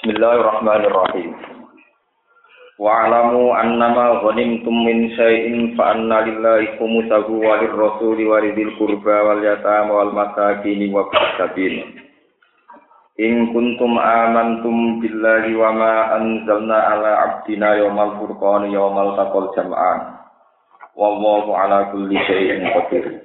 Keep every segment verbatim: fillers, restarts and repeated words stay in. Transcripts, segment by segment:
Bismillahirrahmanirrahim. Wa'lamu annama ghanimtum min syai'in fa anna lillahi khumsahu wa lirrasuli wa lidhil qurba wal yatama wal masakin wa bis-sabil. In kuntum amantum billahi wa ma anzalna ala 'abdina yawmal furqani yawmal taqal jam'an. Wallahu ala kulli syai'in qadir.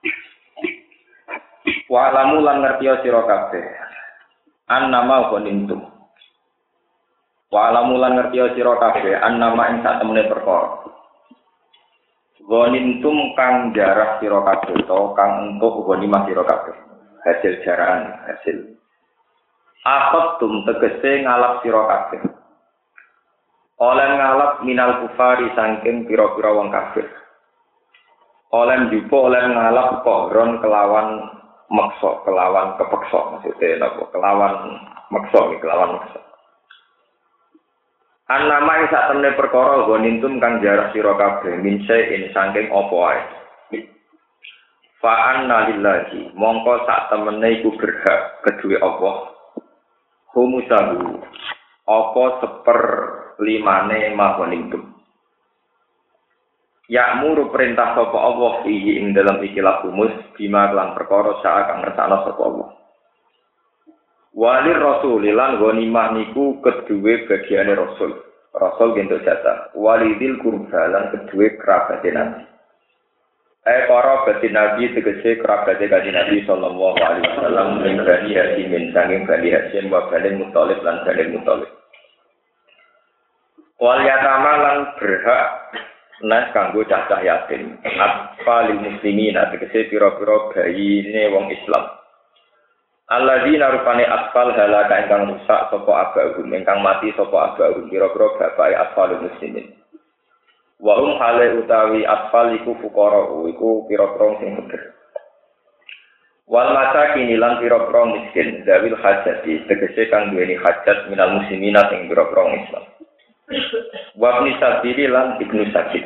Wa'lamu lan ngertiya sira kabeh. Annama ghanimtum. Wa'lamu lan ngertiya sira kabeh annama ing sak temene perkara. Ghanimtum kang jarah sira kabeh utawa kang entuk ghanimah sira kabeh. Hasil jarahan, hasil. Aqattum tegese ngalap sira kabeh. Oleh ngalap minal kufari saking pira-pira wong kafir. Oleh njupuk oleh ngalap kohron kelawan maksa, kelawan kepeksa maksudnya napa? Kelawan maksa, kelawan maksa. Annama ing sak temene perkara ghanimtum kang jarah sira kabeh min syai'in saking apa wae. Fa anna lillahi mongko sak temene iku berhak kedue Allah. Humusahu apa seper limane maghanimtum. Ya'muru perintah sapa Allah iki ing dalam ikilah humus bima lan perkara sak kang ngersakno sapa Allah. Walir rasul lan ghanimah niku kedue bagiane rasul. Rasul gento jatah. Walidil qurba lan kedue kerabat Nabi. Eh para batin Nabi tegese kerabat kanjeng Nabi sallallahu alaihi wasallam ing Bani Hashim sanging Bani Hashim wa Bani Muthalib lan Bani Muthalib. Wal yatama lan berhak nas kanggo cacah yatim. Atfalil muslimin tegese pira-pira bayine wong Islam. Alladzina rupane atfal halaka ingkang rusak sapa abahum ingkang mati sapa abahum pira-pira bapake atfalul muslimin. Wa hum hale utawi atfal iku fuqara iku pira-pira sing bener. Wal masakin lan pira-pira miskin zawil hajati tegese kang duweni hajat minal muslimina sing pira-pira Islam. Wa ibn sabili lan ibnu sabil.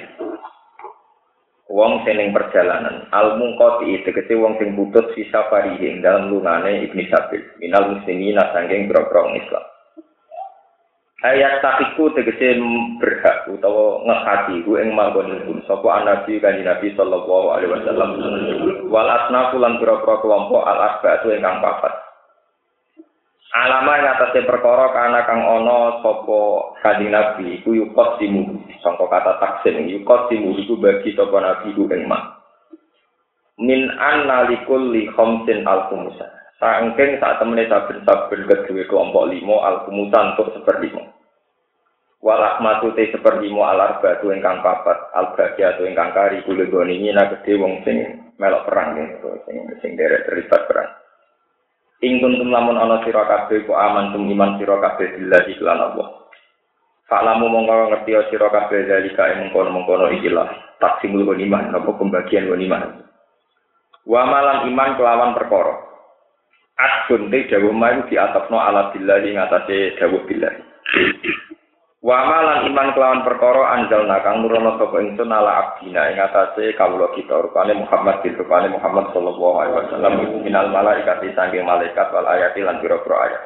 Wong sing perjalanan al munqati tegese wong sing putus sisa parihe ing dalem lungane ibnu sabil minal muslimina saking pira-pira Islam. Ayat takiku tegese berhak utawa ngehati ku ing manggon sapa nabi kanjeng Nabi sallallahu alaihi wasallam wal asnafu lan pira-pira kelompok al asbatu ingkang papat. Alama ing atase perkara kana kang ana sapa kanjeng Nabi iku yukot timu sangka kata taksim yukot timu iku bagi sapa nabi ku ing mak. Min annalikul li khamsin al-khumusa. Saking sak temene saben-saben kedue kelompok lima al-khumusan untuk seperlima. Wa rahmatu te seperlima al-arba'atu ingkang papat al-baqiyatu ingkang kari kula goni nyina gedhe wong sing melok perang niku sing sing derek terlibat perang. Ing kuntum lamun ana sira kabeh ku amantum iman sira kabeh billahi lan Allah. Fa'lamu mongko ngerti sira kabeh dalika ing mengkono-mengkono ikilah taksimul ghanimah napa pembagian ghanimah. Wa malan iman kelawan perkara. Adun te dawuh mayu diatapno ala billahi ngatasé dawuh billahi. Wa malan iman kelawan perkara anjalna kang nurono sapa ingsun ala abdina ing atase kawula kita rupane Muhammad bin rupane Muhammad sallallahu alaihi wasallam minal malaikati saking malaikat wal ayati lan pira-pira ayat.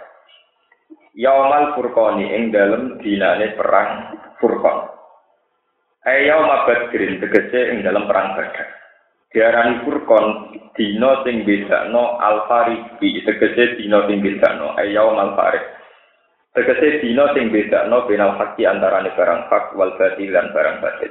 Yaumal furqani ing dalem dinane perang Furqan. Ayauma badrin tegese ing dalem perang Badar. Diarani Furqan dina sing bedakno al-fariqi tegese dina sing bedakno ayaumal fariq. Tegese dina sing bedakno benal haqqi antarane barang hak wal batil lan barang batil.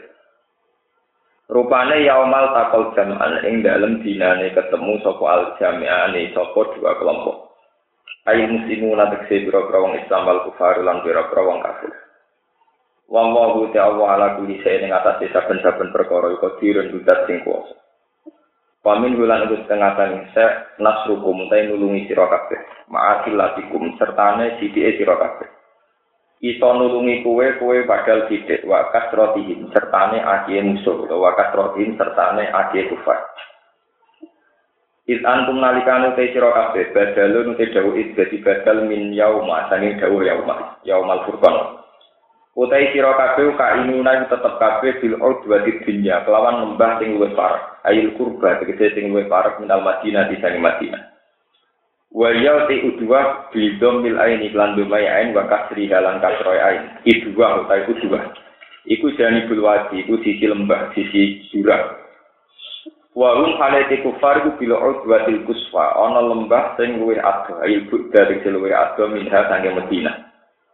Rupane yaumal taqal jam'an ing dalem dinane ketemu sapa al jami'ane sapa dua kelompok. Ai muslimuna tegese pira-pira wong Islam wal kufar lan pira-pira wong kafir. Wallahu ta'ala ala kulli shay'in ngatasi saben-saben perkara iku dirun dudat sing kuwasa. Pamin wulan iku setengah tani se nasrukum ta nulungi sira kabeh ma'akilatikum sertane sithike sira kabeh iso nulungi kowe kowe padahal sithik wa kasrotihim sertane akeh musuh utawa kasrotihim sertane akeh kufar. Iz antum nalikane te sira kabeh badalun te dawuh dadi badal min yauma sanging dawuh yauma yaumal furqan. Utai sira kabeh ka inuna tetep kabeh bil udwati dunya kelawan lembah sing luwih parek ayil kurba tegese sing luwih parek minal Madinah di sange Madinah. Wa ya ti udwa bidom bil aini lan dumai ain wa kasri halan kasroi ain. Idwa utawa udwa. Iku jani bulwadi, iku sisi lembah, sisi jurang. Wa hum halati kufar iku bila udwatil kuswa, ana lembah sing luwih adoh, ail budda sing luwih adoh minha sange Madinah.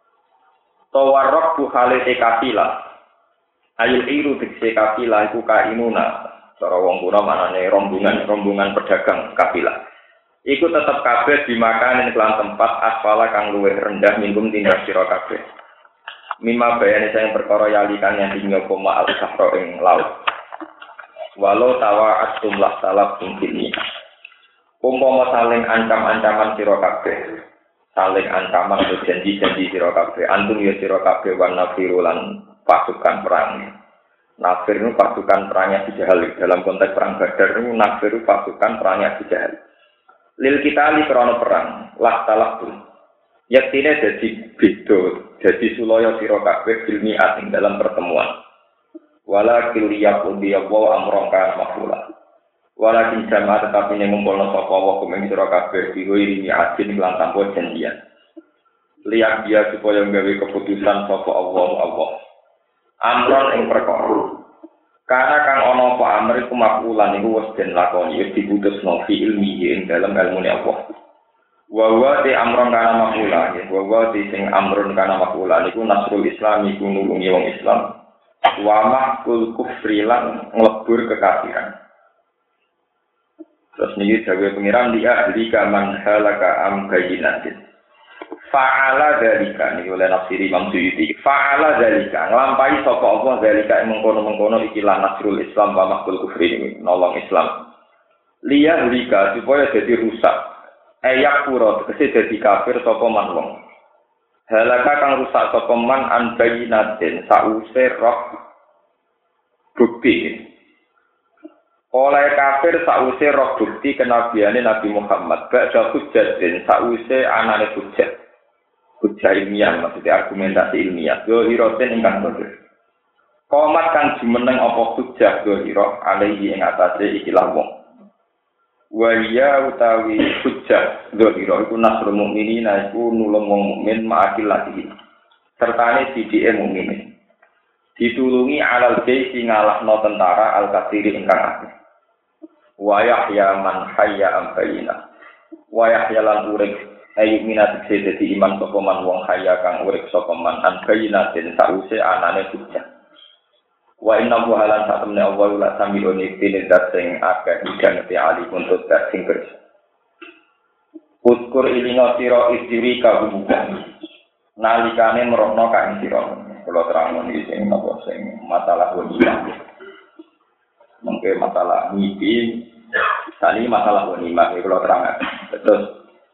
Tawarraq bu halati kafila. Ail iru dikse kafila iku kainuna. Cara wong kuna manane rombongan, rombongan pedagang kafila. Iku tetep kabeh dimakan ing kelan tempat asfala kang luwih rendah minggum tindak sira kabeh. Mima bayane sayang perkara yalikan yang tinggal koma al-sahra ing laut. Walau tawa atum lah salab tingkini. Umpama saling ancam-ancaman sira kabeh. Saling ancaman atau janji-janji sira kabeh. Antum ya sira kabeh wan nafiru lan pasukan perang. Nafir itu pasukan perangnya Abu Jahal. Dalam konteks perang Badar itu nafir itu pasukan perangnya Abu Jahal. Lil kita li krana perang, lah talak pun. Yaktine dadi beda, dadi sulaya sira kabeh ilmi asing dalam pertemuan. Wala kiliyaq udiya wa amraka mafula. Wala kin sama tetapi ning ngumpulna sapa wa kumeng sira kabeh digo ilmi asing lan tanpa janjian. Liyak dia supaya gawe keputusan sapa Allah Allah. Amron ing perkara. Karena kang ana apa amr iku makulan iku wis den lakoni wis diputusno fi ilmi ing dalam ilmune Allah. Wa wa ti amron kana makula ya wa wa ti sing amrun kana makula niku nasrul islam iku nulungi wong Islam wa mahkul kufri lan nglebur kekafiran. Terus niki dawuh pengiran dia ahli kaman halaka am bayinatin fa'ala dzalika niku oleh nafsiri Imam Suyuti fa'ala dzalika nglampahi sapa Allah dzalika mengkono-mengkono iki lan nasrul islam wa mahkul kufri niku nolong Islam liya dzalika supaya dadi rusak ayak pura tegese dadi kafir sapa man wong. Halaka kang rusak sapa man an bayinatin sause roh bukti. Oleh kafir sause roh bukti kenabiane Nabi Muhammad. Ba'da hujjatin sause anane hujjat. Hujjah ilmiah maksudnya argumentasi ilmiah. Yo hiroten ingkang bener. Qomat kang jumeneng apa hujjah yo hiro alaihi ing atase ikilah wong. Waliya utawi hujjah dzahira iku nasrul mukminin iku nulung wong mukmin ma'akil lagi sertane sidike mukmin ditulungi alal jaisi ngalahno tentara al-katsiri ingkang akeh wa yahya man hayya am bayina wa yahya lan urip ayu minat dadi iman sapa man wong hayya kang urip sapa man an bayina den sause anane hujjah. Wa inna buhalan satemene Allah la samiun ibtine dat sing akeh idang te ali untuk dat sing kerja. Uskur ilinga sira istiri kabubukan. Nalikane merokno kae sira. Kula terangno iki sing napa sing masalah wanita. Mengke masalah mimpi, tadi masalah wanita kula terangake. Terus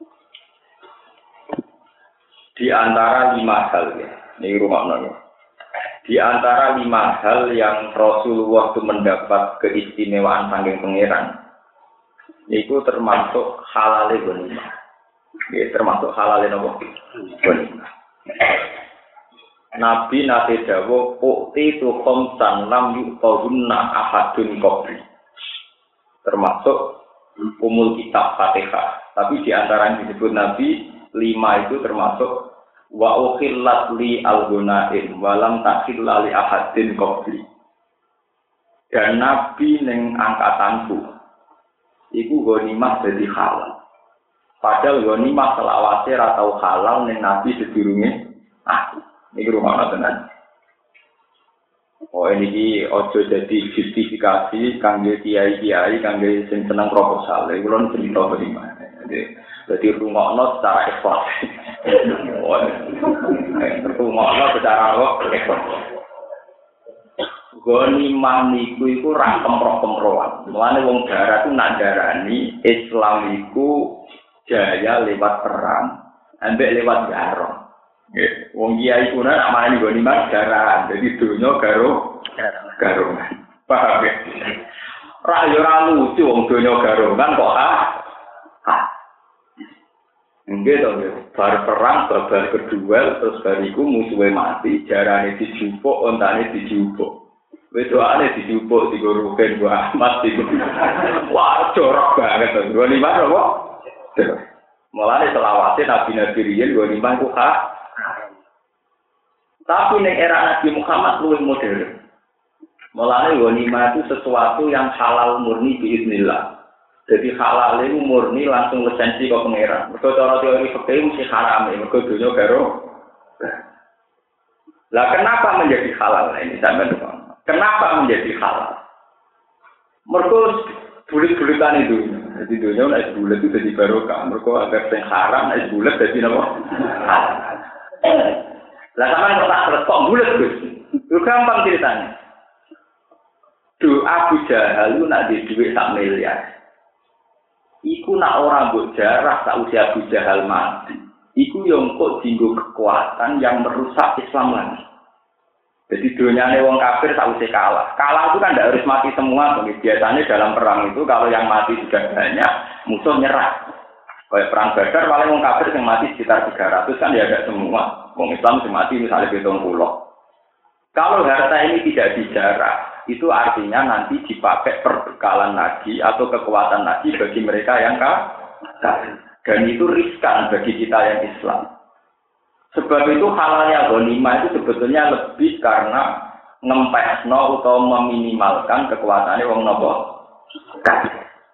di antara lima hal ya, niki rumakno. Di antara lima hal yang Rasulullah itu mendapat keistimewaan saking pangeran, itu termasuk halal ghanimah. Ya, termasuk halal nopo ghanimah. Nabi nate dawuh ukti tu khamsan lam yuqawunna ahadun qabli. Termasuk umul kitab Fatihah. Tapi di antara yang disebut Nabi lima itu termasuk wa ukhillat li al-gunain walam takhilla li ahadin qabli. Dan Nabi ning angkatanku iku ghanimah dadi halal. Padahal ghanimah selawase ra tau halal ning Nabi sedurunge aku. Niki rumakna tenan. Oh ini ojo jadi justifikasi kangge kiai-kiai kangge sing seneng proposal. Iku lho cerita bagaimana. Jadi rungokno secara ekspor. Rungokno secara ekspor. Ghanimah niku iku ra kemproh-kemprohan. Mulane wong darat ku nak darani Islam iku jaya lewat perang, ambek lewat garong. Nggih, wong kiai ku nak marani ghanimah darat. Jadi donya karo garongan. Paham ya? Ra yo ra lucu wong donya garongan kok ah. Nggih to, bar perang babal kedua terus bariku musuhe mati, jarane dijupuk, ontane dijupuk. Wedoane dijupuk digoroken gua Ahmad iku. Wah, jorok banget to. Ghanimah apa? Mulane selawase nabi-nabi riyen ghanimah ku hak. Tapi ning era Nabi Muhammad luwih modern. Mulane ghanimah itu sesuatu yang halal murni biiznillah. Jadi halal itu murni langsung lisensi kok pangeran. Mergo cara teori fikih mesti haram, mergo dunya karo. Lah kenapa menjadi halal ini sampean? Kenapa menjadi halal? Mergo bulet-buletan itu. Jadi dunia nek bulet itu jadi barokah. Mergo agar sing haram nek bulet dadi napa? Halal. Lah sampean kok tak terus kok bulet, Gus? Itu gampang ceritanya. Do Abu Jahal lu nak di duit sak miliar. Iku nak ora mbok jarah sak usia Abu Jahal mati. Iku yo kok dinggo kekuatan yang merusak Islam lagi. Jadi duniane wong kafir sak usia kalah. Kalah itu kan tidak harus mati semua. Biasanya dalam perang itu kalau yang mati sudah banyak, musuh nyerah. Kayak perang Badar paling wong kafir yang mati sekitar tiga ratus kan ya ada semua. Wong Islam yang mati misalnya tujuh puluh. Kalau harta ini tidak dijarah, itu artinya nanti dipakai perbekalan lagi atau kekuatan lagi bagi mereka yang kafir. Dan itu riskan bagi kita yang Islam. Sebab itu halalnya ghanimah itu sebetulnya lebih karena ngempesno atau meminimalkan kekuatannya wong nopo kafir.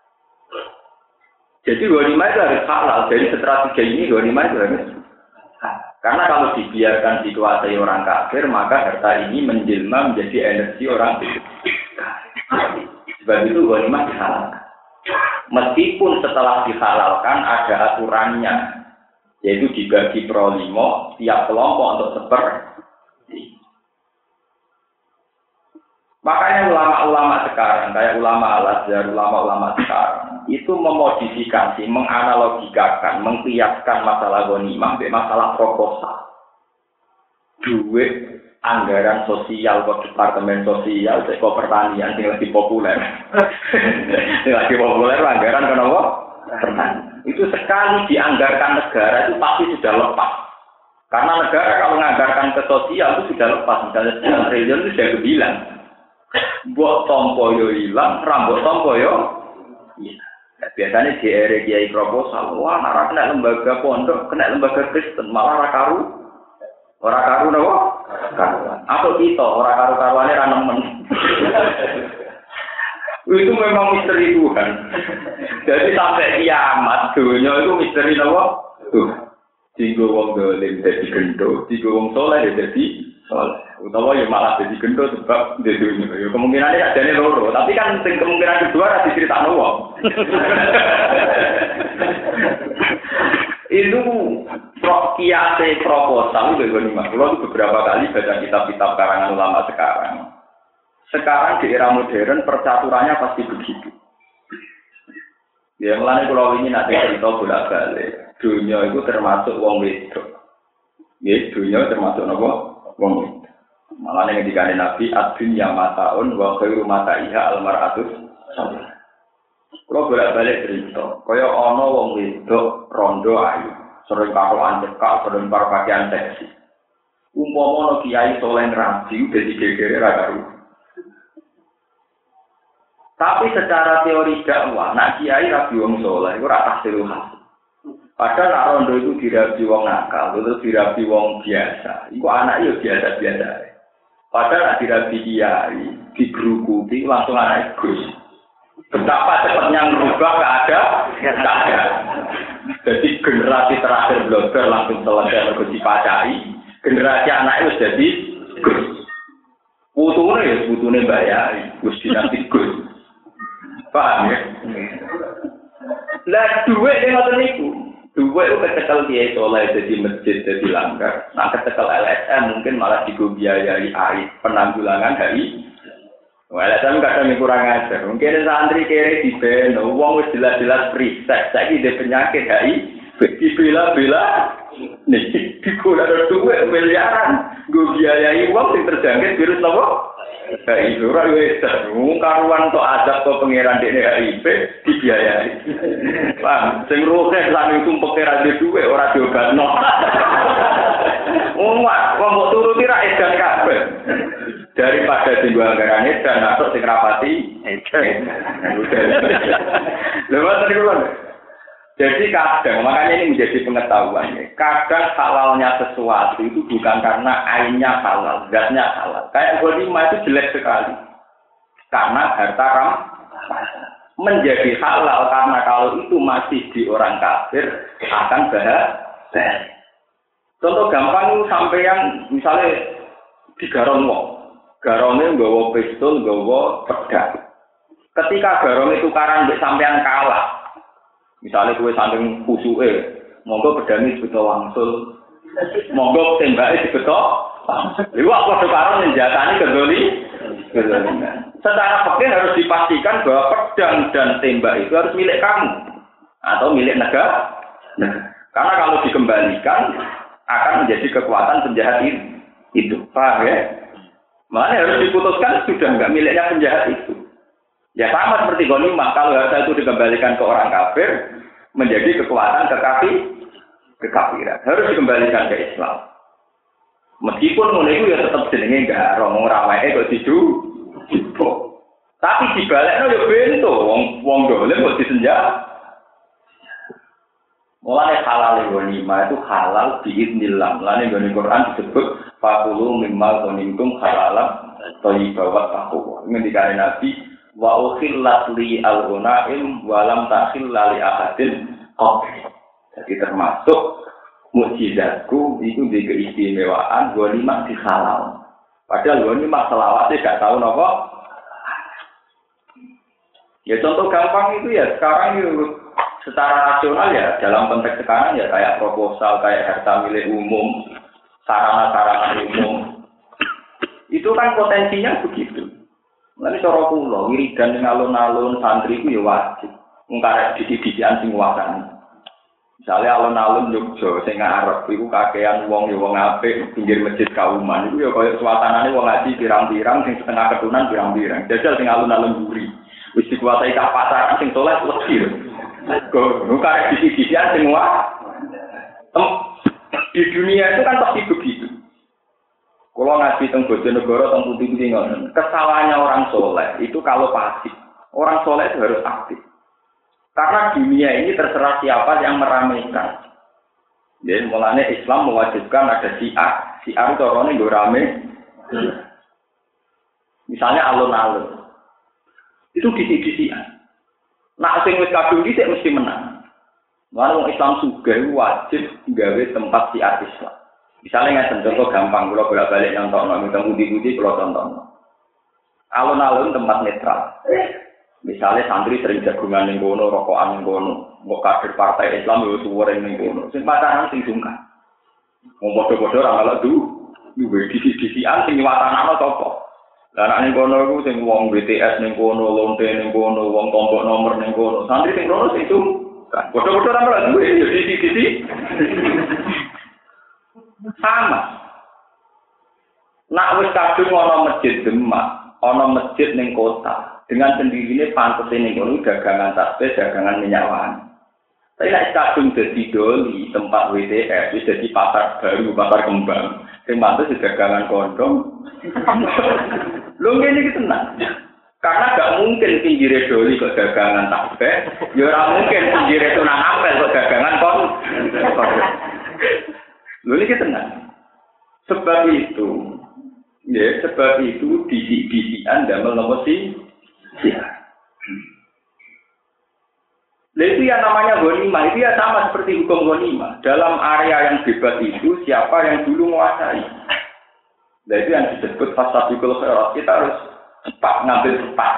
Jadi ghanimah itu harus halal. Dari strategi ini ghanimah itu harus halal. Karena kalau dibiarkan dikuasai orang kafir, maka harta ini menjelma menjadi energi orang kafir. Sebab itu ghanimah dihalalkan. Meskipun setelah dihalalkan ada aturannya, yaitu dibagi per lima, tiap kelompok untuk seperti. Makanya ulama-ulama sekarang, kayak ulama Al-Azhar, ulama-ulama sekarang, itu memodifikasi, menganalogikakan, mengkiaskan masalah ghanimah dengan masalah proposal. Duit anggaran sosial ke departemen sosial, ke pertanian yang lebih populer. Yang lebih populer anggaran kenapa? Pertanian. Itu sekali dianggarkan negara itu pasti sudah lepas. Karena negara kalau menganggarkan ke sosial itu sudah lepas. Misalnya sekian triliun itu sudah kebilang. Buat tompo yo hilang, rambut tompo yo. Iya. Nah, biasanya di area kiai proposal, wah nara kena lembaga pondok, kena lembaga Kristen, malah ora karu, ora karu nopo? Karuan. Atau kita ora karu karuannya ra nemen. Itu memang misteri Tuhan. Jadi sampai kiamat dunia itu misteri nopo? Tuh. Digo wong dolim dadi gendho, digo wong saleh dadi saleh. Utawa ya malah jadi gendut sebab di dunia. Ya kemungkinannya adanya loro, tapi kan kemungkinan kedua ada diceritakan wong. Itu kiase proposal itu ghanimah. Kalau itu beberapa kali baca kitab-kitab karangan ulama sekarang. Sekarang di era modern percaturannya pasti begitu. Ya mulane kalau ini nanti cerita bolak-balik. Dunia itu termasuk wong wedok. Ya dunia termasuk apa? Wong wedok. Malah yang dikatakan Nabi ad-dunya mataun wa khairu mataiha al-mar'atus salih. Kalau bolak-balik cerita, kaya ana wong wedok rondo ayu, sering karoan cekak, sering pakaian seksi. Umpama ana kiai saleh rabi dadi gegere ra karo. Tapi secara teori dakwah, nak kiai rabi wong saleh iku ora tahsil hasil. Padahal nak rondo itu dirabi wong nakal, terus dirabi wong biasa. Iku anak yo biasa-biasa. Padahal nak dirabi kiai, dibrukuti langsung anak Gus. Betapa cepatnya merubah keadaan, keadaan. Jadi generasi terakhir blogger langsung selesai mergo dipacai. Generasi anak itu jadi Gus. Putune ya putune bayari, Gus dinasti Gus. Paham ya? Lah duit yang ngoten niku. Duit itu kecekel kiai soleh jadi masjid jadi langgar. Nah kecekel L S M mungkin malah dibiayai air penanggulangan dari L S M kadang kurang ajar. Mungkin santri kere di beno, uang wis jelas-jelas riset. Saiki dia penyakit H I V, dibela-bela. Nih, dikulah ada duit miliaran. Gue biayai uang yang terjangkit virus apa? H I V ora wis karuan tok azab kok pangeran dekne H I V dibiayai. Paham? Sing roke lan itu pangeran dhe duwe ora diobatno. Wong wong kok turuti ra edan kabeh. Daripada sing anggaran edan atau sing rapati edan. Lha ngoten niku lho. Jadi kadang, makanya ini menjadi pengetahuan ya. Kadang halalnya sesuatu itu bukan karena ainnya halal, zatnya halal. Kayak ghanimah itu jelek sekali. Karena harta ram menjadi halal karena kalau itu masih di orang kafir akan bahaya. Contoh gampang itu sampeyan misalnya di garong wong. Garongnya nggawa pistol, nggawa pedang. Ketika garong itu karan mbek sampean kalah. Misalnya gue saking kusuke, monggo pedane dibeto wangsul, monggo tembake dibeto. Iku aku sekarang menjatani kedoli. Secara fikih harus dipastikan bahwa pedang dan tembak itu harus milik kamu atau milik negara. Karena kalau dikembalikan akan menjadi kekuatan penjahat itu. Paham ya? Makanya harus diputuskan sudah enggak miliknya penjahat itu. Ya sama seperti ghanimah, kalau harta itu dikembalikan ke orang kafir menjadi kekuatan kekafir, kekafiran. Harus dikembalikan ke Islam. Meskipun ngono itu ya tetap jenenge garong ora wae kok didu. Tapi dibalekno ya bento wong wong dolen kok disenjat. Mulane halal ghanimah itu halal biiznillah. Mulane gone Quran disebut faqulu mimma ghanimtum halalan thayyiban taqwa. Ngendikane Nabi wa ukhillat li al-ghanaim wa lam takhilla li ahadin qabli. Jadi termasuk mukjizatku itu di keistimewaan ghanimah dihalal. Padahal ghanimah selawase gak tahu napa. Ya contoh gampang itu ya sekarang itu secara rasional ya dalam konteks sekarang ya kayak proposal, kayak harta milik umum, sarana-sarana umum. Itu kan potensinya begitu. Nanti cara kula wiridan ning alun-alun santri ku ya wajib. Ngkarek didi-didian sing wacan. Misale alun-alun Jogja sing arep iku kakean wong ya wong apik pinggir masjid kauman iku ya kaya suasanane wong ngaji pirang-pirang sing setengah ketunan pirang-pirang. Jajal sing alun-alun mburi. Wis dikuasai ka pasar sing soleh wedi. Kok ngkarek didi-didian sing wacan. Di dunia itu kan pasti begitu. Kalau ngaji teng Bojonegoro teng putih-putih ngoten, kesalahannya orang soleh itu kalau pasif. Orang soleh itu harus aktif. Karena dunia ini terserah siapa yang meramaikan. Jadi mulanya Islam mewajibkan ada syiar. Syiar itu orangnya gue rame. Misalnya alun-alun. Itu disi-disian. Nah, sing wis kadung dhisik mesti menang. Mulane wong Islam sugih wajib gawe tempat syiar Islam. Misalnya nggak contoh gampang, kalau bolak-balik nonton, nonton budi-budi, kalau tonton. Alun-alun tempat netral. Misalnya santri sering jagungan ning kono, rokokan ning kono, mbok kader partai Islam yo suwere ning kono. Sing pacaran sing sungkan. Wong padha-padha ora malah du, duwe disi-disian sing watanane sapa. Lah nek ning kono iku sing wong B T S ning kono, lonte ning kono, wong kelompok nomor ning kono. Santri sing kono sing sungkan. Padha-padha ora malah duwe yo disi-disi. Sama. Nak wis kadung ana masjid Demak, ana masjid ning kota, dengan sendirinya pantes ning kono dagangan tasbih, dagangan minyak wangi. Tapi nek kadung dadi doli tempat W T S, wis dadi pasar baru, pasar kembang, sing pantes dagangan kondom. Lho ngene iki tenan. Karena gak mungkin pinggire doli kok dagangan tasbih, ya ora mungkin pinggire tunang apel kok dagangan kon. Lho iki tenan. Sebab itu, ya sebab itu disi-disian damel nopo sih? Ya. Nah itu yang namanya ghanimah, itu ya sama seperti hukum ghanimah. Dalam area yang bebas itu siapa yang dulu menguasai. Nah itu yang disebut fasabiqul khairat. Kita harus cepat ngambil cepat.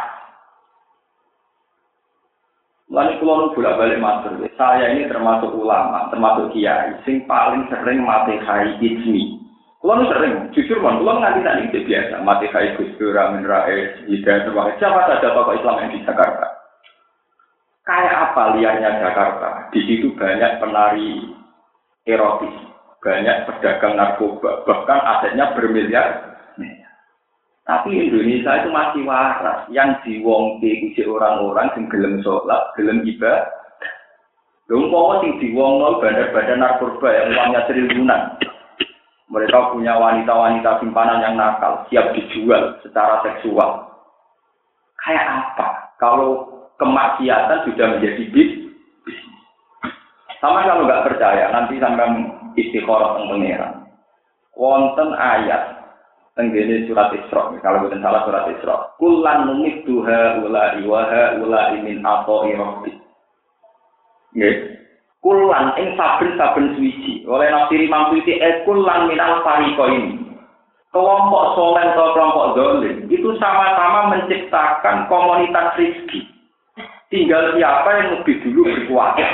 Lalu kalau bolak-balik matur, saya ini termasuk ulama, termasuk kiai, sing paling sering mati hai ismi. Kalau sering, jujur man, kalau nganti tadi itu biasa, mati hai Gus Dur, Amin Rais, Hidayat Nurwahid, siapa saja tokoh Islam yang di Jakarta. Kayak apa liarnya Jakarta? Di situ banyak penari erotis, banyak pedagang narkoba, bahkan asetnya bermiliar. Tapi Indonesia itu masih waras. Yang diwongke kuwi orang-orang sing gelem salat, gelem ibadah. Lha umpama sing diwongno bandar-bandar narkoba yang uangnya triliunan. Mereka punya wanita-wanita simpanan yang nakal, siap dijual secara seksual. Kayak apa? Kalau kemaksiatan sudah menjadi bisnis. Sama kalau nggak percaya, nanti sampai istikharah teng pangeran. Wonten ayat tenggene surat Isra, kalau bukan salah surat Isra. Kullan numidduha ula iwaha ula min atoi rabbi. Nggih. Kullan ing saben-saben suci. Oleh nafsiri mamputi e kullan minal fariqo ini. Kelompok soleh atau kelompok zalim itu sama-sama menciptakan komunitas rizki. Tinggal siapa yang lebih dulu berkuasa.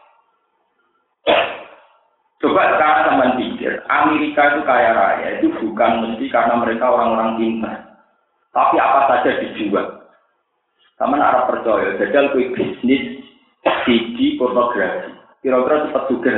Coba sekarang teman pikir, Amerika itu kaya raya, itu bukan mesti karena mereka orang-orang pintar. Tapi apa saja dijual. Teman Arab percaya, jajal kue bisnis C D pornografi. Kira-kira cepat juga.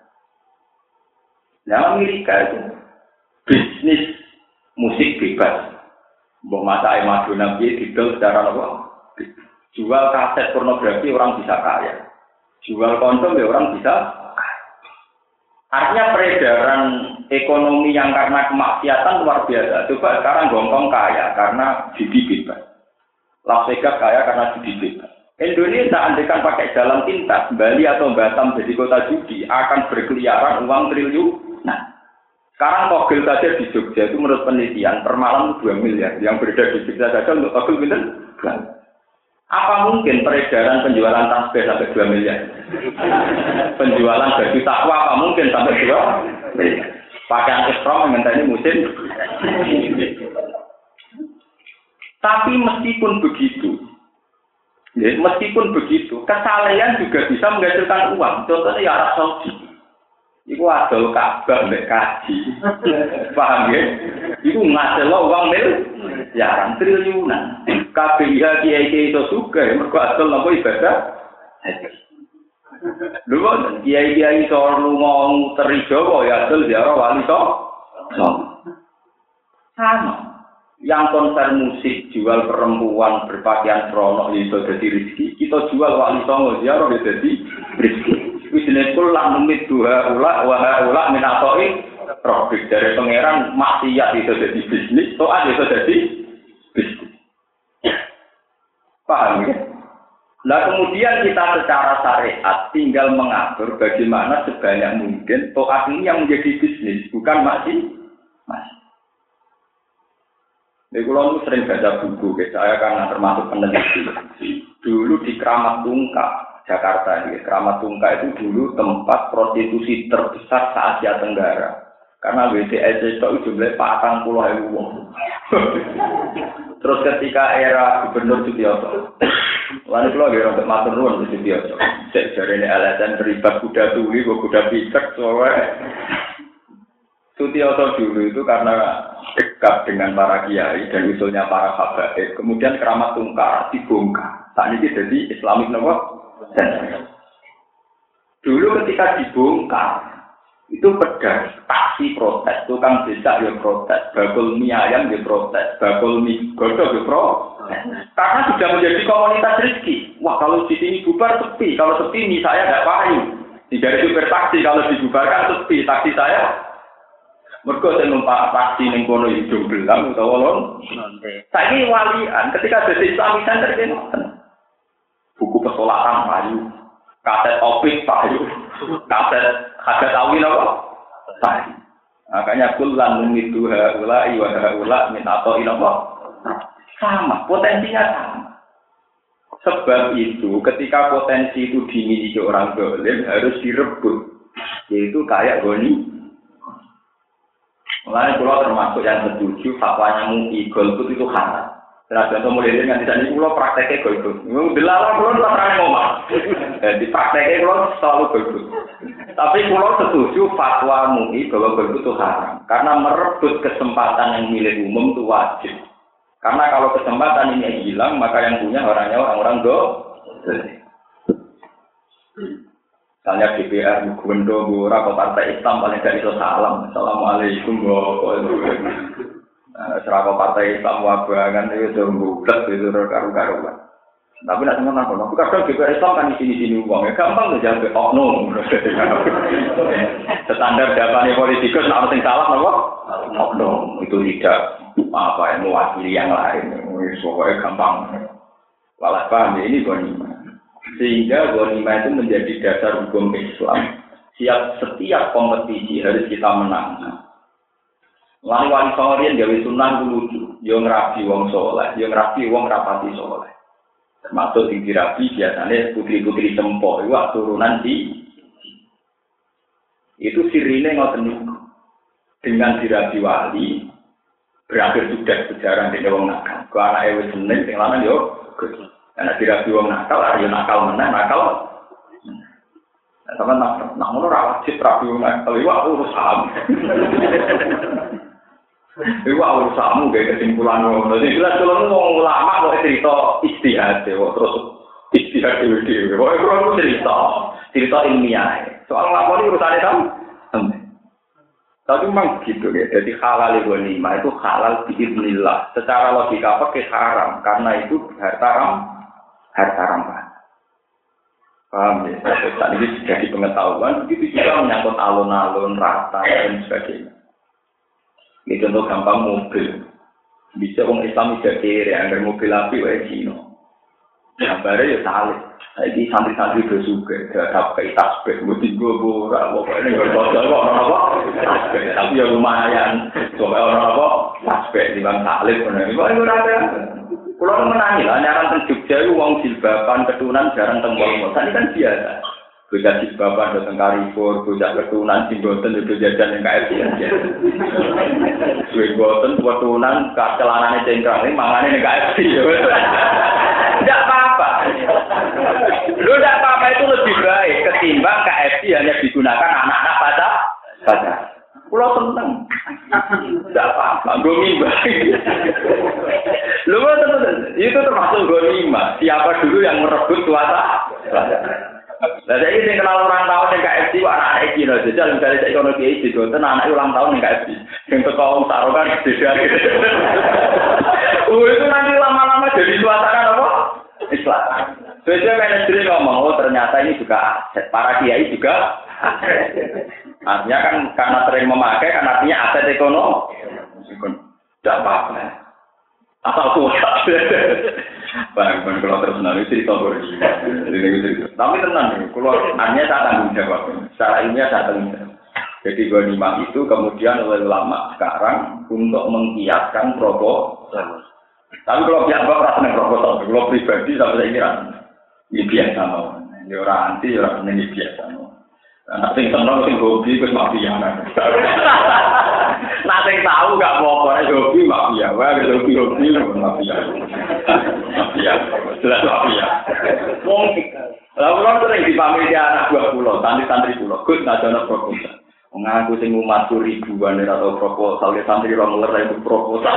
Nah Amerika itu bisnis musik bebas. Mbok masak Madonna piye didol secara apa? Jual kaset pornografi orang bisa kaya. Jual kondom ya orang bisa. Artinya peredaran ekonomi yang karena kemaksiatan luar biasa. Coba sekarang Hongkong kaya karena judi bebas. Las Vegas kaya karena judi bebas. Indonesia andaikan pakai jalan pintas, Bali atau Batam jadi kota judi akan berkeliaran uang triliun. Nah, sekarang togel saja di Jogja itu menurut penelitian per malam dua miliar. Yang beredar di Jogja saja untuk togel bener? Apa mungkin peredaran penjualan tasbih sampai dua miliar? Penjualan baju takwa apa mungkin sampai dua miliar? Pakaian ekstrom mengenai musim. Tapi meskipun begitu, ya, meskipun begitu, kesalahan juga bisa menghasilkan uang. Contohnya ya Arab Saudi. Iku adol Ka'bah mbek kaji. Paham ya? Iku ngasilno uang mil ya triliunan. Kabeh kiai-kiai itu juga mergo adol napa ibadah haji. Lho kiai-kiai iso lunga teri Jawa ya adol ziarah wali so. Sama. Yang konser musik jual perempuan berpakaian seronok itu jadi rezeki. Kita jual wali songo ziarah jadi rezeki. Wisne kul lan numit dua ula wa ula min atoi profit dari pangeran maksiat itu jadi bisnis, toat itu jadi bisnis. Paham ya? Nah kemudian kita secara syariat tinggal mengatur bagaimana sebanyak mungkin toat ini yang menjadi bisnis, bukan masih masih. Jadi kalau sering baca buku, saya karena termasuk peneliti. Dulu di Keramat Tungkak, Jakarta ini, Keramat Tungkak itu dulu tempat prostitusi terbesar se-Asia Tenggara. Karena W C S itu jumlahnya patang puluh ribu. Terus ketika era Gubernur Sutioso, lalu kalau dia untuk matur nuwun di Sutioso, dari ini L S M terlibat kuda tuli, kuda picek, soalnya Sutioso dulu itu karena dekat dengan para kiai dan usulnya para habaib, kemudian Keramat Tungkar dibongkar. Saat ini jadi Islamic Novel. Dulu ketika dibongkar, itu pedas, taksi protes, tukang becak ya protes, bakul mie ayam ya protes, bakul mie godok ya protes. Karena sudah menjadi komunitas rezeki. Wah kalau di sini bubar sepi, kalau sepi mie saya tidak payu. Tidak ada super taksi, kalau dibubarkan sepi, taksi saya. Mergo sing numpak taksi ning kono hidung belang utawa lon. Saiki walian ketika dadi Islamic Center kene. Buku pesolatan payu, kaset opik payu, kaset hajat awil apa? Payu. Makanya kullan numidu haula wa haula min ata'il apa? Sama, potensinya sama. Sebab itu ketika potensi itu dimiliki orang zalim harus direbut. Yaitu kayak goni. Mulai pulau termasuk yang setuju fatwanya M U I golput itu haram. Nah, contoh mulai dengan di sini pulau prakteknya golput. Dilarang pulau terang ngomong. Jadi prakteknya pulau selalu golput. Tapi pulau setuju fatwa M U I bahwa golput itu haram. Karena merebut kesempatan yang milik umum itu wajib. Karena kalau kesempatan ini hilang, maka yang punya orangnya orang-orang do. Misalnya D P R, Gubernur, Gora, atau Partai Islam paling tidak itu salam. Assalamualaikum warahmatullahi wabarakatuh. Serapa Partai Islam wabangan itu sudah bulat itu karu-karuan. Tapi nak semua nak kono. Kadang D P R Islam kan di sini-sini uang. Ya gampang saja sampai oknum. Standar jawabannya politikus nak penting salah apa? Oknum itu tidak apa yang mewakili yang lain. Pokoknya gampang. Walau paham ini goni. Sehingga ghanimah itu menjadi dasar hukum Islam. Siap setiap kompetisi harus kita menang. Lalu wali songorin gawe sunnah lucu, yo ngrabi wong soleh, yo ngrabi wong rapati soleh. Termasuk sing dirabi biasanya putri-putri sempo, itu turunan di itu sirine ngoten niku. Dengan dirabi wali berakhir sudah sejarah di wong nakal. Ku anake wis seneng sing lanang yo ana dirabi wong nakal, yo nakal meneh, nakal. Nah, sampeyan nak nak ngono ra wajib rabi wong nakal, iku urusan. Iku urusanmu gawe kesimpulan ngono. Nek jelas kalau wong ulama kok cerita istihad kok terus istihad dhewe-dhewe. Kok ora cerita, cerita ilmiah. Soal nglakoni urusane sampe. Tapi memang gitu ya. Jadi halal ghanimah itu halal biiznillah. Secara logika pakai haram karena itu harta ram, harta ramah. Paham ya? Saat ini jadi pengetahuan, begitu juga menyangkut alun-alun, rata dan sebagainya. Ini contoh gampang mobil. Bisa orang Islam tidak kiri, agar mobil api wae Cina. Gambarnya ya salib. Jadi santri-santri itu juga, ada kayak tasbih, mesti gue burak, pokoknya nggak bocor kok orang apa, tasbih. Tapi ya lumayan, coba orang apa, tasbih di bang salib, benar. Kok itu ada? Pulau menangi lah, nyaran teng Jogja itu uang jilbaban ketunan jarang teng Wong. Tadi kan biasa. Bocah jilbaban datang Carrefour, bocah ketunan jimboten itu jajan yang K F C aja. Jimboten ketunan celanane cengkrang ini mangane yang K F C. Tidak apa-apa. Lu tidak apa-apa itu lebih baik ketimbang K F C hanya digunakan anak-anak pada saja. Pulau seneng. Tidak apa-apa, ghanimah. Lu itu termasuk ghanimah. Siapa dulu yang merebut kuasa? Nah, saya ini kenal orang tahun yang K F C, anak-anak Cina. Jadi, misalnya saya kono kiai di Gonten, anak ulang tahun yang K F C. Yang tekong taruhan beda. Oh, itu nanti lama-lama jadi suasana apa? Islam. Biasanya manajer ngomong, oh ternyata ini juga aset. Para kiai juga aset. Artinya kan karena sering memakai, kan artinya aset ekonomi. Tidak apa-apa. Asal kuat. Bang, bang kalau terus nanti cerita berarti. Tapi tenang nih, kalau hanya saya tanggung jawab. Secara ilmiah saya tanggung jawab. Jadi ghanimah itu kemudian oleh ulama sekarang untuk mengkiaskan proposal. Tapi kalau pihak bapak rasa nih proposal, kalau pribadi sampai saya kira ini biasa mau. Ini orang anti, orang ini biasa mau. Nah, sing seneng sing hobi wis mafia. Nah, sing tahu gak apa-apa nek hobi mafia, wae hobi hobi mafia. Mafia. Jelas mafia. Wong lha kula sering dipamiti anak buah kula, santri-santri kula, Gus ngajono proposal. Wong aku sing umat ribuan ora tau proposal, santri ora ngeler itu proposal.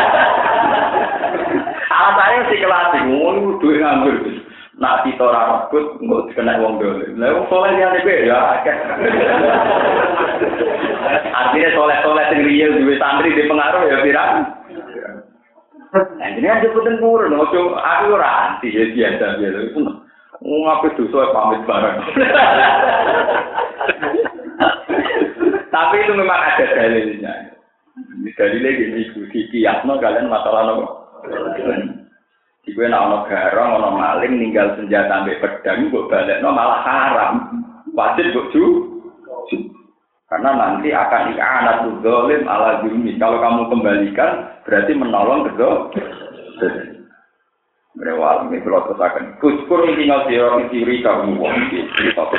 Alasannya si kelas ngono duwe nganggur. Nak kita ora rebut engko dikena wong dolim. Lah wong soleh liyane kuwi ya akeh. Artinya soleh-soleh sing real duwe santri di pengaruh ya pirang. Nah, ini aja puten purun, ojo aku ora anti ya biasa biasa itu. Wong ape dosa pamit bareng. Tapi itu memang ada dalilnya. Dalilnya gini, di kiasno kalian masalah nopo. Iku nek ana garong, ana maling ninggal senjata ambek pedang kok balekno malah haram. Wajib kok ju. Karena nanti akan i'anatul zalim ala zulmi. Kalau kamu kembalikan berarti menolong kedua. Berewal ini kalau terusakan. Kuskur ini ngasiro isiri kamu wong iki.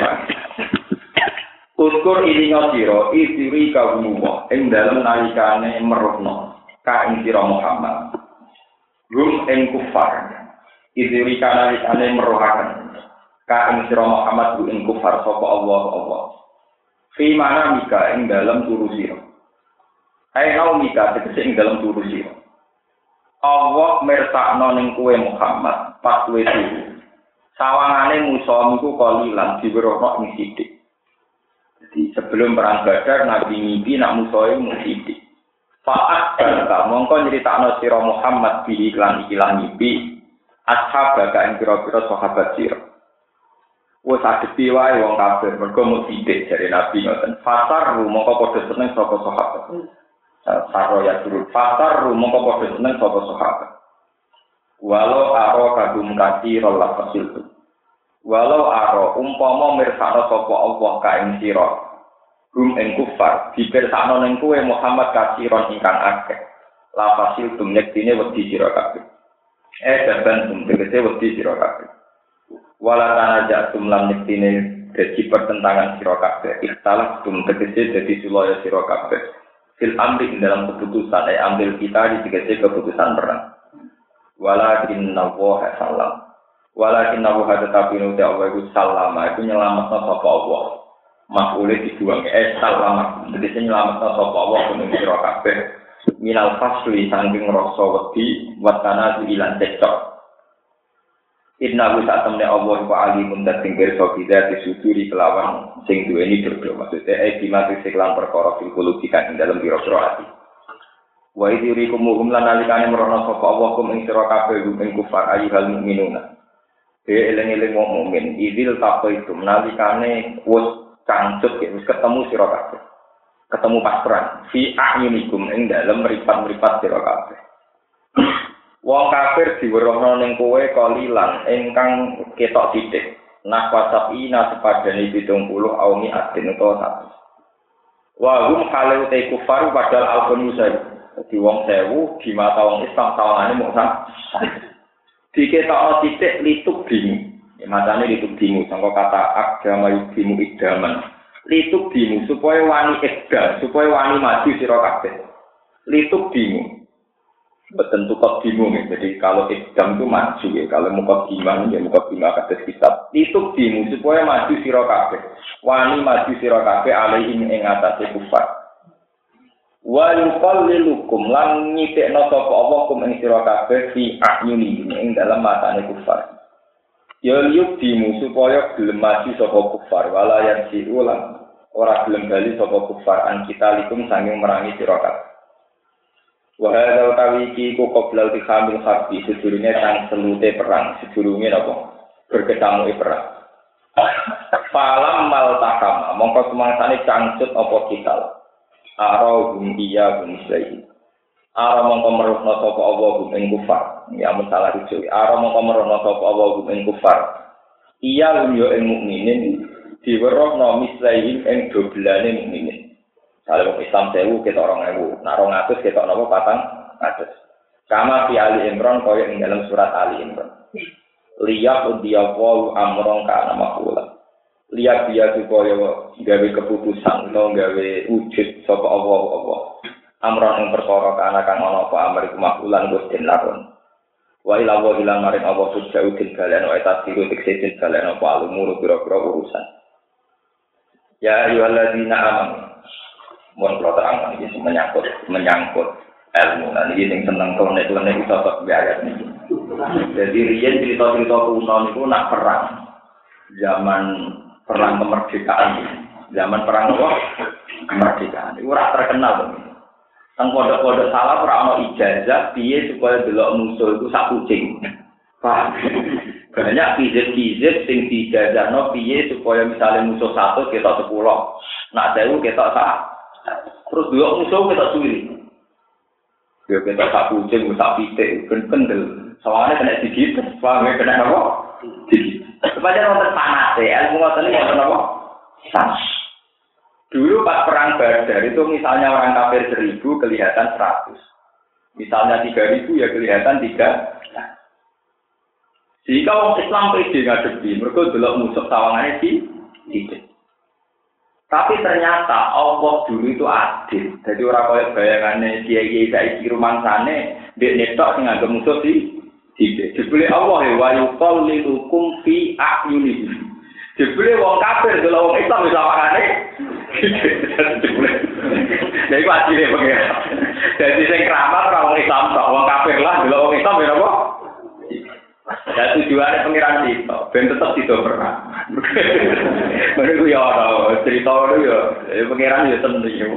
Kuskur ini ngasiro isiri kamu wong. Ing dalam nalikane meruhno. Ka ing sira Muhammad. Rum ing kufar. Isiri nalikane meruhaken. Ka ing sira Muhammad ing kufar sapa Allah Allah. Fi mana mika ing dalam turu sira. Ai nau mika tegese ing dalam turu sira. Allah mersakno ning kowe Muhammad pas kowe turu. Sawangane musa niku kalilan diwerono ing sithik. Jadi sebelum perang Badar Nabi mimpi nak musa iku mung sithik. Fa'at barka mongko nyritakno sira Muhammad bi iklan ikilan mimpi ashabaka ing pira-pira sahabat sira. Wes adepi wae wong kafir mergo mung sithik jare Nabi ngoten. Fasar mongko padha seneng saka sahabat. Saro ya turun fasar mongko padha seneng saka sahabat. Walau aro kagum kati rola fasil. Walau aro umpama mirsakno sapa Allah ka ing sira hum ing kufar dipirsakno ning kowe Muhammad kasiron ingkang akeh la fasil tumnek dine wedi sira kabeh eh daban tum tegese wedi sira kabeh wala tanajatum lan nektine dadi pertentangan sira kabeh ikhtalaf tum tegese dadi sulaya sira kabeh fil amri dalam keputusan eh ambil kita di tegese keputusan perang walakin nawaha salam walakin nawaha tetapi nuti Allah itu salama itu nyelametna sapa Allah makule dibuang eh salama tegese nyelametna sapa Allah kuning sira kabeh minal fasli saking rasa wedi watana ilan cecok inna bisa temne Allah wa alimun dating kersa kita disuduri kelawan sing duweni dodo maksudnya eh dimati seklan perkara fil kulubikan ing dalam biro-biro ati wa idirikum hum lan alikane merono sapa Allah kum ing sira kabeh ing kufar ayyuhal mukminuna e eling-eling wong mukmin idil taqaitu nalikane wis cangcut wis ketemu sira kabeh ketemu pas perang fi a'yunikum ing dalem mripat-mripat sira kabeh wong kafir diwerohno ning kowe kalilan ingkang ketok sithik nah wasabina sepadane pitung puluh aumi adin utawa satu wa hum kalau te kufar padahal alqun musa di wong sewu di mata wong Islam sawangane mung sak diketokno sithik lituk bingung ya matane lituk bingung sangka kata agama yubimu idaman lituk bingung supaya wani ekdal supaya wani maju sira kabeh lituk bingung betul tukok bingung ya. Jadi kalau ekdam itu maju ya kalau muka gimana ya muka gimana kata kitab lituk bingung supaya maju sira kabeh wani maju sira kabeh alaihim ing atase kufar wa yuqallilukum lan nyitekno sapa Allah kum ing sira kabeh fi a'yuni ing dalam matane kufar ya liyuk dimu supaya gelem maju sapa kufar wala yang siulan ora gelem bali sapa kufar an kita likum sanging merangi sira kabeh wa hadza utawi iki ku qoblal bihamil harbi sedurunge sang selute perang sedurunge napa berketamu perang falam mal takama mongko sumangsane cangcut apa kital ara hum iya hum islaihi ara mongko meruhna sapa Allah hum ing kufar ya masalah iki ara mongko meruhna sapa Allah hum ing kufar iya hum yo ing mukminin diwerohna mislaihi ing doblane mukminin kalau Islam sewu ketok rong ewu nak rong atus ketok napa patang atus kama fi Ali Imran kaya ing dalam surat Ali Imran liyaq diyawu amron kana maqula lihat dia supaya gawe keputusan atau gawe wujud sapa Allah Allah amran ing perkara kana kang ana apa amri makulan Gusti lakon wa ila wa ila maring Allah sujau til kalian wa tasiru tiksetin kalian apa umur pira-pira urusan ya ayyuhalladzina amanu mun kula terangkan iki menyangkut menyangkut ilmu lan iki sing seneng konek-konek iso tok ayat niki jadi riyen cerita-cerita kuno niku nak perang zaman perang kemerdekaan zaman perang apa kemerdekaan itu ora terkenal to teng pondok-pondok salah ora ana ijazah piye supaya delok musuh itu sak kucing paham banyak kizet-kizet sing dijajahno piye supaya misalnya musuh satu ketok sepuluh nak sewu ketok sak terus delok musuh ketok suwi yo ketok sak kucing sak pitik ben kendel sawangane kena digigit paham kena apa digigit supaya wonten panas ya, ilmu ngoten iki wonten apa? Panas. Dulu pas perang Badar itu misalnya orang kafir seribu kelihatan seratus. Misalnya tiga ribu ya kelihatan tiga. Jika orang Islam pede ngadepi, mereka delok musuh sawangane di tidak. Tapi ternyata Allah dulu itu adil. Jadi orang kaya bayangane kiai-kiai saiki rumangsane ndek netok sing anggap musuh di tidak. Jebule Allah ya wa yuqallilukum fi a'yunihi. Jebule wong kafir delok wong Islam wis awakane. Jebule. Lha iku adile pengen. Dadi sing keramat ora wong Islam tok, wong kafir lah delok wong Islam ya apa? Ya tujuane pengiran itu, ben tetep dido perang. Mereka ya ora cerita itu ya, pengiran ya seneng ya.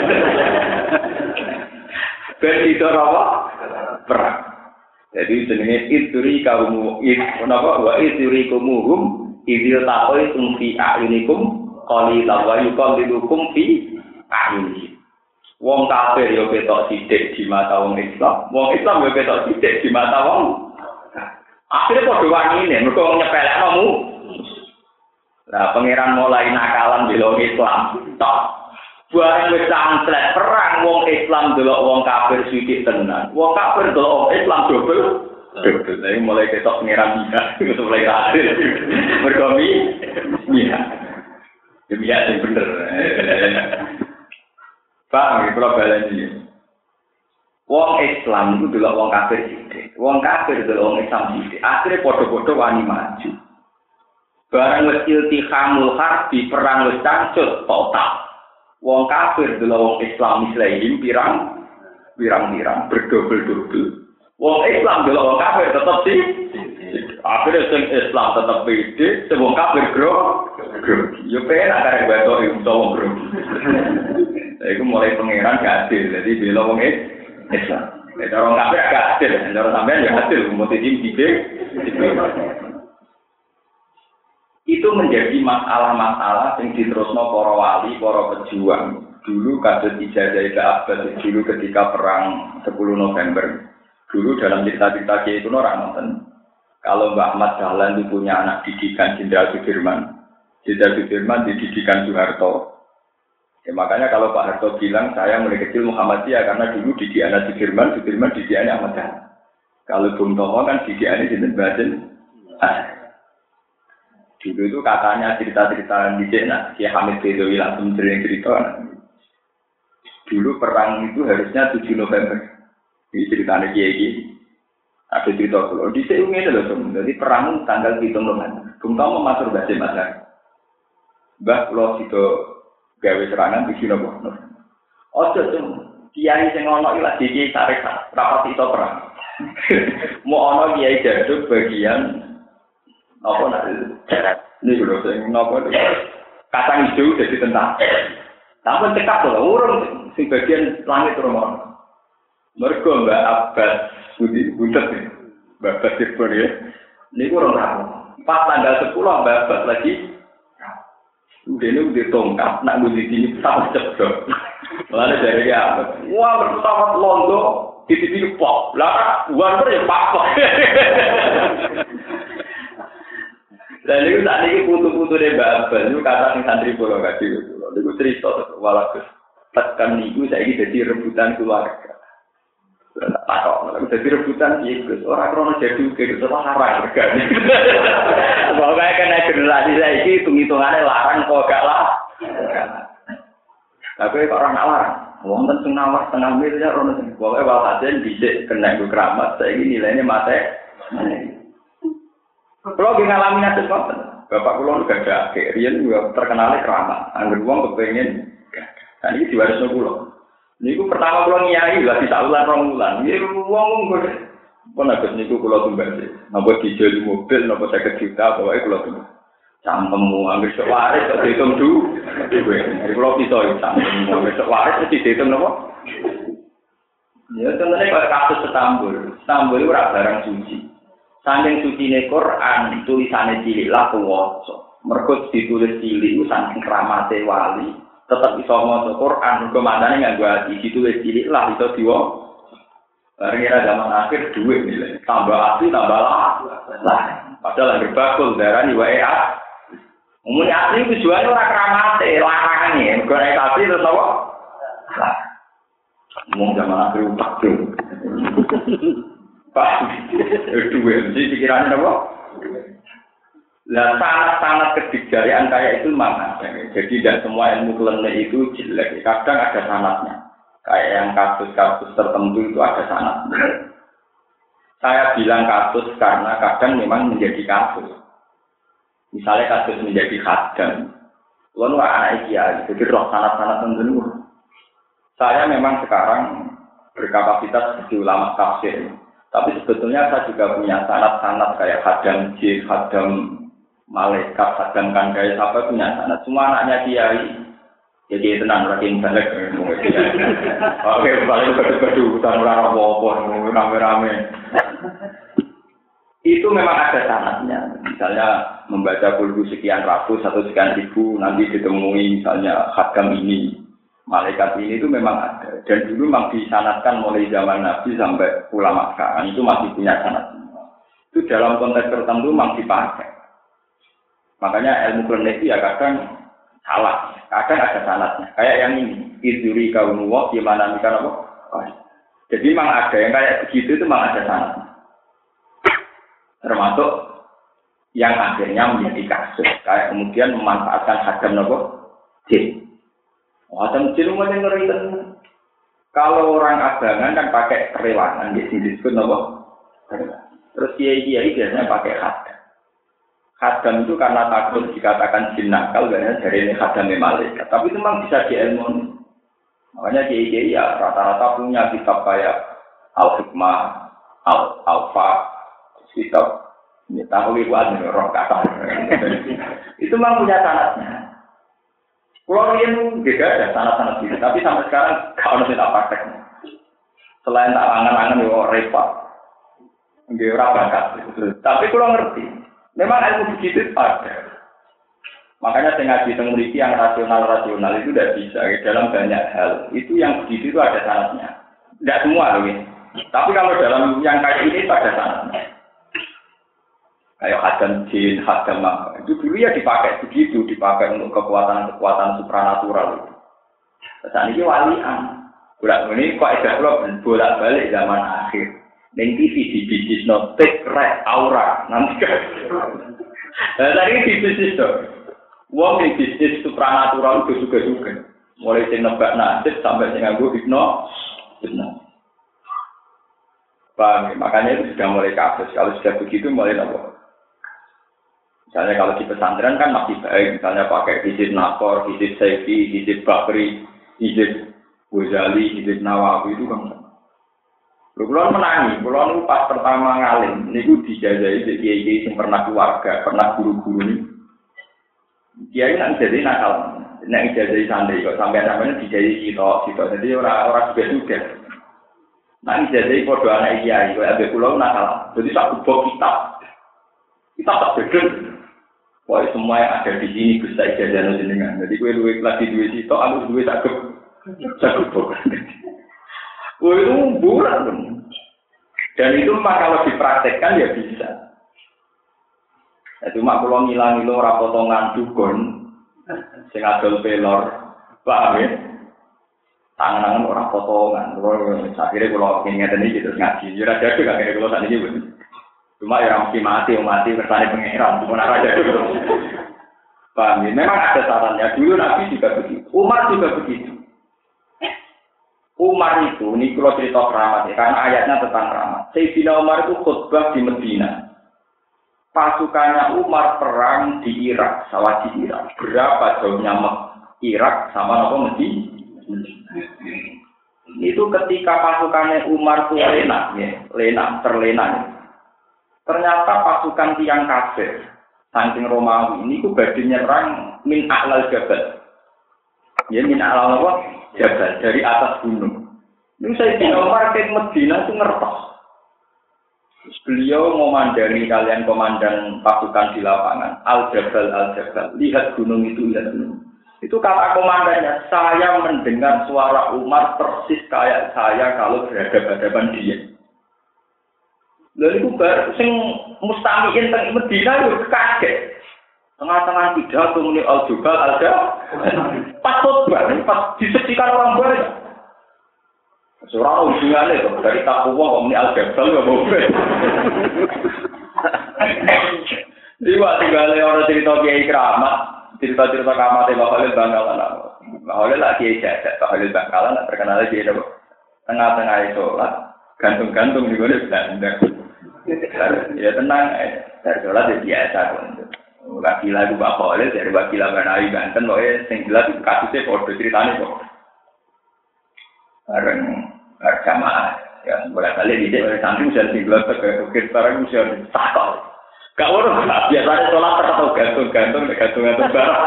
Ben dido apa? Perang. Jadi jenenge idri kaum napa wa idri kumuhum idil taqoi tumfi a'yunikum qalilan wa yuqallilukum fi a'yunikum. Wong kafir yo ketok sithik di mata wong Islam, wong Islam yo ketok sithik di mata wong. Akhire padha wanine mergo nyepelekno mu. Nah, pangeran mulai nakalan bela Islam. Tok. Bareng wis sangslet perang wong Islam delok wong kafir sithik tenan. Wong kafir delok wong Islam dobel. Dobel. Lah mulai ketok pangeran bisa wis mulai kadir. Mergo mi. Iya. Demi ya sing bener. Pak, kalau baleni. Wong Islam itu delok wong kafir sithik. Wong kafir delok wong Islam sithik. Akhire padha-padha wani maju. Barang wis iltihamul harbi perang wis cangcut total. Wong kafir delok wong Islam Muslim pirang pirang-pirang berdobel-dobel. Wong Islam delok wong kafir tetep sih. Akhirnya sing Islam tetep pede, sing wong kafir gro. Yo penak karek batok iku wong gro. Iku mulai pangeran gak adil, jadi bela wong Islam. Nek orang kafir gak adil, nek sampean ya adil, mesti didik. Itu menjadi masalah-masalah yang diterusno para wali, para pejuang. Dulu kasus ijazah ke Abbas dulu ketika perang sepuluh November. Dulu dalam cerita-cerita itu orang nonton. Kalau Mbak Ahmad Dahlan itu punya anak didikan Jenderal Sudirman. Jenderal Sudirman dididikan Soeharto. Ya, makanya kalau Pak Harto bilang saya mulai kecil Muhammadiyah karena dulu didikan Sudirman, Sudirman didikan Ahmad Dahlan. Kalau Bung Tomo kan didikan Jenderal Bajen. Dulu itu katanya cerita-cerita di sana, Kiai Hamid Bedowi langsung sering cerita. Dulu perang itu harusnya tujuh November. Ini ceritanya Kiai ini. Ada cerita kalau di sini itu loh, jadi perang tanggal tujuh November. Bung Tomo masuk bahasa Masar. Mbah kalau itu gawe serangan di sini boh. Oh tuh, Kiai sing ono iki lagi Kiai tarik rapat itu perang. Mau ono Kiai jaduk bagian apa nak darat ini lho sing napa kacang hijau jadi tentara. Tapi cekap lho urung sing bagian langit romo. Mergo Mbak Abbas Budi Buntet Mbak Abbas Sirpur ya. Niku ora rapo. Pas tanggal sepuluh Mbak Abbas lagi dene udah tongkat nak ngundi sini sama ceblok. Lalu dari ya, wah bertawat londo di sini pop. Lah buan ya pak. Dan itu saat ini putu-putu dari Mbak Abbas, itu kata yang santri pulau kasih pulau. Itu cerita walaupun tekan niku saya ini jadi rebutan keluarga. Tak kok, jadi rebutan itu orang krono jadi kayak semua larang regane. Pokoknya kena generasi saya ini hitung-hitungannya larang kok gak lah. Tapi kok orang larang, wong tentu nawar setengah miliar orang sing pokoknya walhasil bisa kena gue keramat. Saya ini nilainya mate. Kalau di ngalamin aja konten, bapak kulo juga ada kirian juga terkenal keramat. Angger uang kepengen, dan ini diwarisnya kulo. Ini ku pertama kulo nyai lah di saluran romulan. Ini uang uang gue, pun agak niku kulo tumbal sih. Nampak dijual di mobil, nampak saya kejuta, pokoknya kulo tumbal. Campemu, angger sewaris, tak dihitung dulu. Jadi kulo pisau, campemu, angger sewaris, tak dihitung nopo. Ya contohnya kalau kasus Istanbul, Istanbul itu barang suci. Saking sucine Quran tulisane cilik lah kuwaca. Mergo ditulis cilik ku saking kramate wali, tetep iso maca Quran mergo mandane nganggo ati ditulis cilik lah iso diwo. Bareng era zaman akhir duit nilai. Tambah ati tambah lah. Lah, padahal anggere bakul darani wae ah. Umune ati tujuane ora kramate, larangane. Mergo nek ati terus apa? Lah. Wong zaman akhir utak tuh. Pak, itu mesti pikirannya apa? Lah sangat-sangat kedikjarian kayak itu mana? Jadi tidak semua ilmu klinik itu jelek. Kadang ada sanatnya. Kayak yang kasus-kasus tertentu itu ada sanatnya. Saya bilang kasus karena kadang memang menjadi kasus. Misalnya kasus menjadi khadam. Lalu anak kiai, jadi roh sanat-sanat tertentu. Saya memang sekarang berkapasitas sebagai ulama tafsir. Tapi sebetulnya saya juga punya sanad-sanad kayak hadam jin, hadam malaikat, hadam kandai, sampai punya sanad. Semua anaknya kiai. Jadi tenang lagi balik. Oke, balik berdua-berdua, utang orang apa-apa, rame-rame. Itu memang ada sanadnya. Misalnya membaca kulhu sekian ratus atau sekian ribu, nanti ditemui misalnya hadam ini. Malaikat ini itu memang ada dan dulu memang disanatkan mulai zaman Nabi sampai ulama sekarang itu masih punya sanat. Itu dalam konteks tertentu memang dipakai. Makanya ilmu klinik itu ya kadang salah, kadang ada salahnya. Kayak yang ini, izuri kaum nuwah gimana mikir apa? Jadi memang ada yang kayak begitu itu memang ada salahnya. Termasuk yang akhirnya menjadi kasus, kayak kemudian memanfaatkan hadam nopo jin. Hadam jin umumnya ngeri. Kalau orang abangan kan pakai kerewangan, di sini disebut nopo. Terus kiai-kiai biasanya pakai hadam. Hadam itu karena takut dikatakan jin nakal, karena dari ini hadam malaikat. Tapi itu memang bisa diilmuni. Makanya kiai-kiai ya rata-rata punya kitab kayak Al-Hikmah, Al-Alfa, kitab ini tahu ibu admin roh kata. Itu memang punya sanadnya. Kalau yang beda ada sanad-sanad gitu, tapi sampai sekarang kalau tidak praktek. Selain tak angan-angan yo repot. Nggih ora bakat. Tapi kalau ngerti, memang ilmu begitu ada. Makanya saya ngaji teng mriki yang rasional-rasional itu tidak bisa dalam banyak hal. Itu yang begitu itu ada sanadnya. Tidak semua loh ya. Tapi kalau dalam yang kayak ini itu ada sanadnya. Kayak hadam jin, hadam apa. Itu dulu ya dipakai begitu, dipakai untuk kekuatan-kekuatan supranatural itu. Saat ini walian. Bulan ini kok ada bolak-balik zaman akhir. Neng T V di bisnis notek red aura nanti kan. Nah, tadi di bisnis tuh. Wong di bisnis supranatural itu juga-juga. Mulai sing nebak nasib sampai sing nganggo hipno. Hipno. Paham, makanya itu sudah mulai kasus. Kalau sudah begitu mulai apa? Misalnya kalau di pesantren kan masih baik, misalnya pakai hizib Nasor, hizib Saifi, hizib Bakri, hizib Ghazali, hizib Nawawi itu kan. Lu kulon menangi, kulon pas pertama ngalim, ini gue dijajahi di kiai yang pernah keluarga, pernah guru-guru ini. Kiai nggak jadi nakal, nggak dijajahi santri kok sampai namanya dijajahi sitok, sitok. Jadi orang-orang juga juga. Nah dijajahi podo anak kiai, kalau ada kulon nakal, jadi tak kubur kitab, kita tak beda. Wah semua yang ada di sini bisa ijazah jenengan. Jadi gue duit lagi duit itu, aku duit cakep, cakep pokoknya. Wah itu bulat pun. Dan itu mah kalau dipraktekkan ya bisa. Ya, cuma kalau ngilang-ngilang ora potongan dukun, sing adol pelor, paham ya? Tangan-tangan ora potongan. Terus akhirnya kalau ingin ini gitu ngaji, jujur aja tuh akhirnya kalau saat ini pun. Cuma ya mesti mati, mati kersane pangeran, bukan aja dulu. Paham ya? Memang ada sarannya. Dulu Nabi juga begitu, Umar juga begitu. Umar itu, ini kalau cerita keramat ya, karena ayatnya tentang keramat. Sayyidina Umar itu khutbah di Medina. Pasukannya Umar perang di Irak, sawah di Irak. Berapa jauhnya Irak sama apa Medina? Itu ketika pasukannya Umar itu lena, ya, lena, terlena. Ya. Ternyata pasukan tiang kafir, saking Romawi ini itu badhe nyerang min a'lal jabal. Ya min a'lal apa? Jabal dari atas gunung. Ini saya di Umar ke Medina itu ngertos. Beliau memandang kalian komandan pasukan di lapangan. Al-Jabal, Al-Jabal. Lihat gunung itu, lihat gunung. Itu kata komandannya, saya mendengar suara Umar persis kayak saya kalau berhadapan-hadapan dia. Lalu itu baru, sing mustamiin teng Medina itu kaget. Tengah-tengah pidato muni Al-Jabal, Al-Jabal. Pas khotbah, pas disaksikan orang banyak. Seorang hubungannya itu dari takwa kok muni Al-Jabal nggak boleh. Jadi waktu gale orang cerita kiai keramat, cerita-cerita keramatnya Mbak Khalil Bangkalan. Mbak Khalil lah kiai jadat, Mbak Khalil Bangkalan terkenal aja itu. Tengah-tengah sholat, gantung-gantung di mana Belanda. Ya tenang, dari sholat ya biasa kok. Wakilah itu Mbak Khalil dari wakilah Banawi Banten, pokoknya yang jelas itu kasusnya bodoh ceritanya kok. Bareng jamaah, ya boleh kali di oleh santri bisa tinggal ke ukir barang bisa takal. Gak urus, biasanya sholat terkatau gantung-gantung, gantung-gantung barang.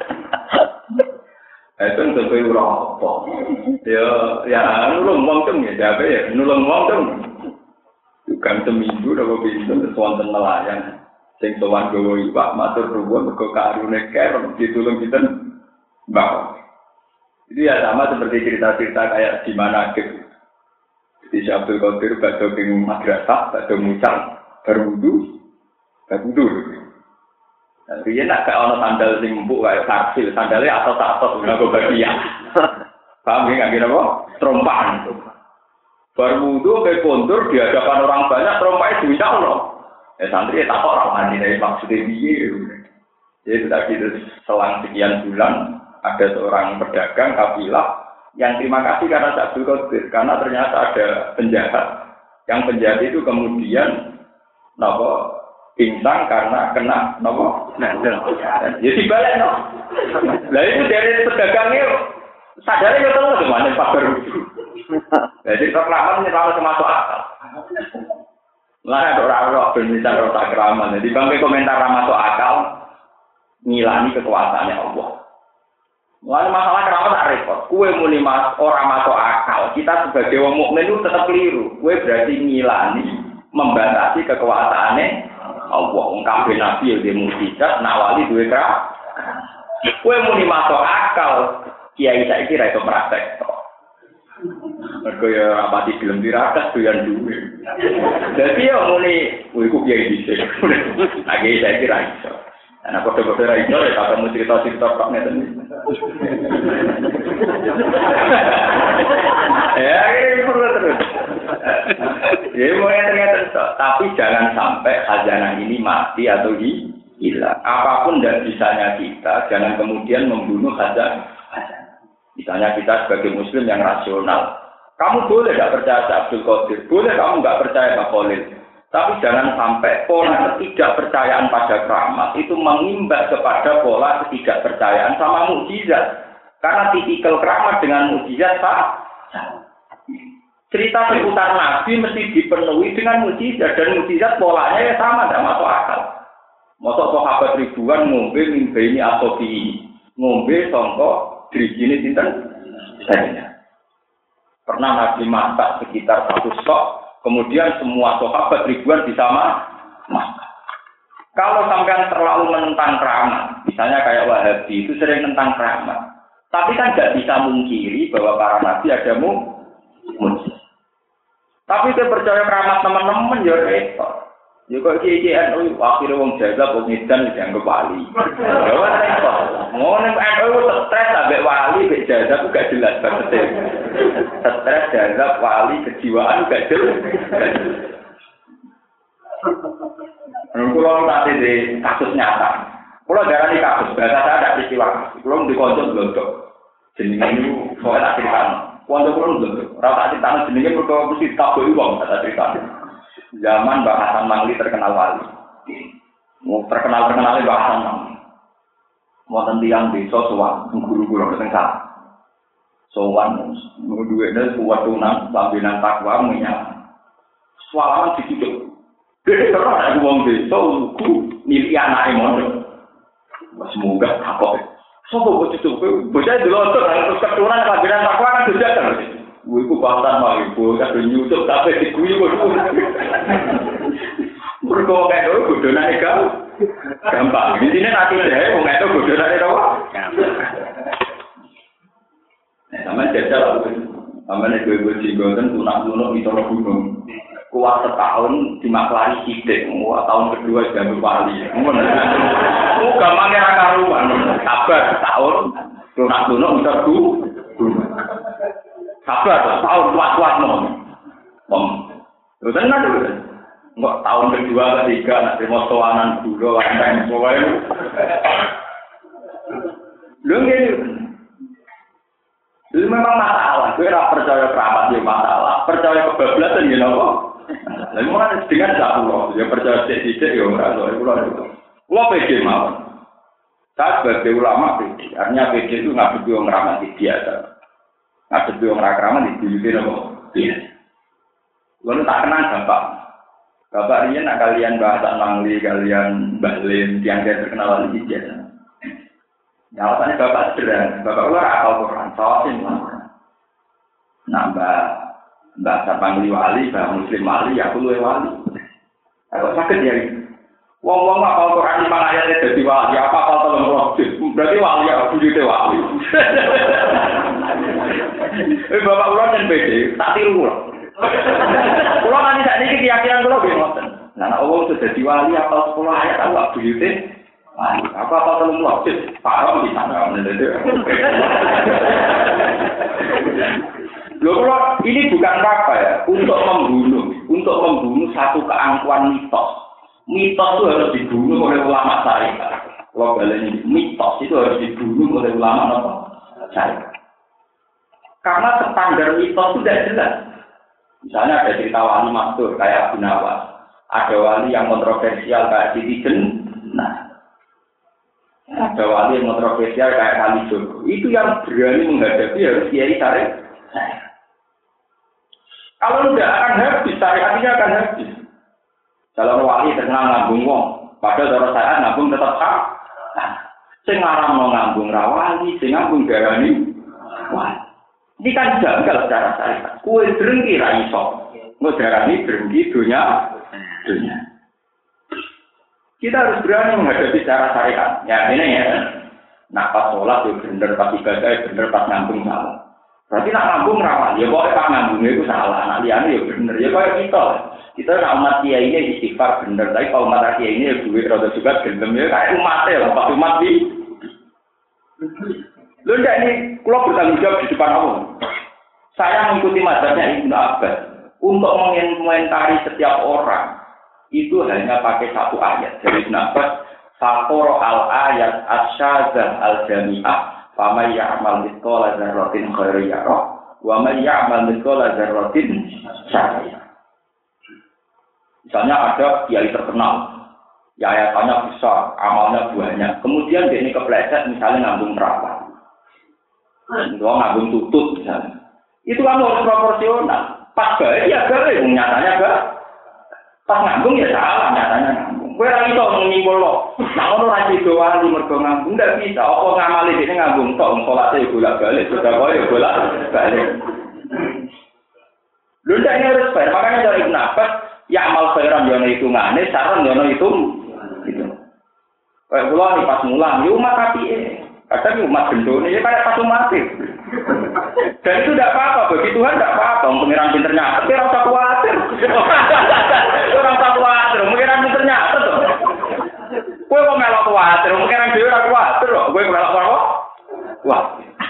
Itu untuk itu apa? Ya, ya nulung wong tem ya, siapa ya nulung wong tem. Bukan seminggu udah bisa sesuatu nelayan. Sing sowan gowo iwak matur nuwun mergo karune kerem ditulung pinten Mbak. Itu ya sama seperti cerita-cerita kayak di mana gitu. Di Abdul Qadir badhe ing madrasah, badhe mucal, berwudu, berwudu. Riyen nak gak ono sandal sing empuk kaya karsil, sandale atos-atos nggo bagian. Paham ya nggak apa? Trompaan. Berwudu ke kontur di hadapan orang banyak, trompanya diminta Allah. Ya santri tak kok orang mandi dari maksudnya dia. Jadi tadi itu selang sekian bulan ada seorang pedagang kafilah yang terima kasih karena Abdul Qadir karena ternyata ada penjahat. Yang penjahat itu kemudian nopo pingsan karena kena nopo. Nah, jadi balik no. Lah itu dari pedagangnya sadarnya nggak tahu gimana Pak Baru. Jadi reklaman ini terlalu termasuk akal. Lah ada orang-orang bermisal rota keraman. Jadi bangkai komentar masuk akal ngilani kekuasaannya Allah. Lalu masalah keramat tak repot. Kue muni mas orang masuk akal. Kita sebagai wong mukmin itu tetap keliru. Kue berarti ngilani membatasi kekuasaannya Allah. Kabeh nabi yang dia mukjizat, nawali duwe kera. Kue muni masuk akal. Kiai saya kira itu praktek. Mereka ya rapati film tirakat doyan duwe. Jadi ya muni, wih ku kiai dhisik. Lagi saya kira itu. Nah, kode-kode ra iso ya kamu cerita-cerita tok ngeten. Ya, ini perlu terus. Ya, mau ternyata tapi jangan sampai khazanah ini mati atau hilang. Apapun tidak bisanya kita, jangan kemudian membunuh khazanah. Misalnya kita sebagai muslim yang rasional, kamu boleh tidak percaya Abdul Qadir, boleh kamu nggak percaya Pak Khalil. Tapi jangan sampai pola ketidakpercayaan pada keramat itu mengimbas kepada pola ketidakpercayaan sama mukjizat. Karena tipikal keramat dengan mukjizat sama. Cerita seputar Nabi mesti dipenuhi dengan mukjizat dan mukjizat polanya ya sama, tidak masuk akal. Masuk sahabat ribuan ngombe mimpi ini atau di ngombe songkok dirijini sinten saya. Pernah Nabi masak sekitar satu stok. Kemudian semua sahabat ribuan bisa makan. Kalau sampean terlalu menentang keramat, misalnya kayak Wahabi itu sering menentang keramat. Tapi kan tidak bisa mungkiri bahwa para nabi ada mukjizat. Tapi saya percaya keramat teman-teman ya repot. Ya kok iki iki N U akhire wong jaga wong edan dianggap wali. Ya ora repot. Ngono N U stres ambek wali mek jaga ku gak jelas banget. Stres jaga wali kejiwaan gak jelas. Kalau nanti di kasus nyata, kalau darah ini kasus, bahasa saya ada peristiwa, kalau di konco belodok, jenenge itu soalnya tak ceritakan, konco belum belodok, rata ceritakan jenenge berkau mesti tabu uang kata ceritakan. Zaman Mbak Hasan Mangli terkenal wali, mau terkenal terkenalnya Mbak Hasan Mangli, mau tentiang desa sowan, guru-guru ketengah, sowan, mau duitnya buat tunang, pambinan takwa, minyak, sualaman dicucuk. Dia terus ada uang desa, lugu, milik anak emosi. Semoga takut. Sopo bocah itu, bocah itu loh terus keturunan pelajaran takwa kan sudah kan. Ibu bahkan mau ibu kan nyusup tapi diguyu kok. Berkau kayak itu bodohnya ega, gampang. Di sini nanti deh, mau itu bodohnya itu apa? Sama jajal, sama nih gue gue cigo kan tunak tunak di tolong gunung. Kuat setahun dimaklari sidik, wah tahun kedua jadi wali. Oh gampangnya raka rumah, sabar setahun, tunak tunak bisa du, sabar setahun kuat kuat nom, nom. Terus kan ada, nggak tahun kedua ketiga nanti mau soanan dulu, ada semua itu. Lu gini, itu memang masalah. Gue rasa percaya keramat dia masalah, percaya kebablasan gitu loh. Lalu mana dengan satu ya percaya sedikit ya orang tua itu lah. Gua pede mau. Saya sebagai ulama pede. Artinya pede itu nggak berdua ngeramat di biasa. Nggak berdua ngeramat di dunia apa? Iya. Lalu tak kenal bapak. Bapak ini nak kalian bahasa Mangli, kalian Bahlin, yang saya terkenal di biasa. Ya alasannya bapak sederhana. Bapak ular akal Quran, sawasin lah. Nambah. Mbak Sapangli wali, Mbak Muslim wali, aku luwe wali. Aku sakit ya. Wong-wong apal Quran lima ayat jadi wali, apa apal tolong roh. Berarti wali ya, bujute wali. Eh bapak kula kan pede, tak tiru kula. Kula nanti sak niki keyakinan kula nggih ngoten. Nah nek wong sudah dadi wali apal sepuluh ayat aku bujute Apa apa telung logis, parah di sana. Loh, kalau ini bukan apa ya, untuk membunuh, untuk membunuh satu keangkuhan mitos. Mitos itu harus dibunuh oleh ulama syariat. Kalau balenya mitos itu harus dibunuh oleh ulama apa? Syariat. Karena standar mitos itu tidak jelas. Misalnya ada cerita wali masyhur kayak Abu Nawas, ada wali yang kontroversial kayak Siti Jenar, ada wali yang kontroversial kayak Kalijogo. Itu yang berani menghadapi harus kiai syariat. Kalau tidak akan habis, syariatnya akan habis. Kalau wali terkenal ngambung wong, padahal cara syariat ngambung tetap sah. Nah, sing ngaram mau ngambung rawali, sing ngambung darani wali. Ini kan janggal secara syariat. Kue berhenti ra iso. Mau darani berhenti dunia, dunia. Kita harus berani menghadapi secara syariat. Ya ini ya. Nah pas sholat ya bener, pas ibadah ya bener, pas ngambung salah. Berarti nak ngambung rawan, ya pokoknya pas ngambungnya itu salah, nak liane ya bener, ya kayak kita. Kita nak umat kiai ini istighfar bener, tapi kalau umat kiai ini ya duit rada juga gendem ya kayak umatnya lah, pas umat di. Lu ndak ini, kalau bertanggung jawab di depan Allah. Saya mengikuti mazhabnya Ibnu Abbas untuk mengomentari setiap orang itu hanya pakai satu ayat dari Ibnu Abbas, Fakor al ayat asyazah al jami'ah. Faman ya'mal mithqala dzarratin khairan yarah wa man ya'mal mithqala dzarratin syarran yarah. Misalnya ada kiai terkenal, ya ayatannya besar, amalnya banyak. Kemudian dia ini kepleset misalnya ngambung perawan. Dua ngambung tutut misalnya. Itu kan harus proporsional. Pas baik ya baik, nyatanya enggak. Pas ngambung ya salah, nyatanya ngambung. Kowe ora iso nyimpul lo. Nek ono ra sido wali mergo ngambung ndak bisa. Apa ngamali dene ngambung tok salate bolak-balik, sedekah ya bolak-balik. Lho ndak ini harus fair. Makanya dari Ibnu Abbas, ya amal khairan yo ono hitungane, saran yo ono hitung. Gitu. Kayak kula nih pas mulang, yo umat apike. Kadang umat gendone ya kayak pas umat. Dan itu tidak apa-apa, bagi Tuhan tidak apa-apa. Pengiran pinternya, tapi orang tak khawatir. Orang tak khawatir, pengiran pinternya tuh. Gue kok melok khawatir, pengiran dia orang khawatir loh. Gue melok apa? Wah.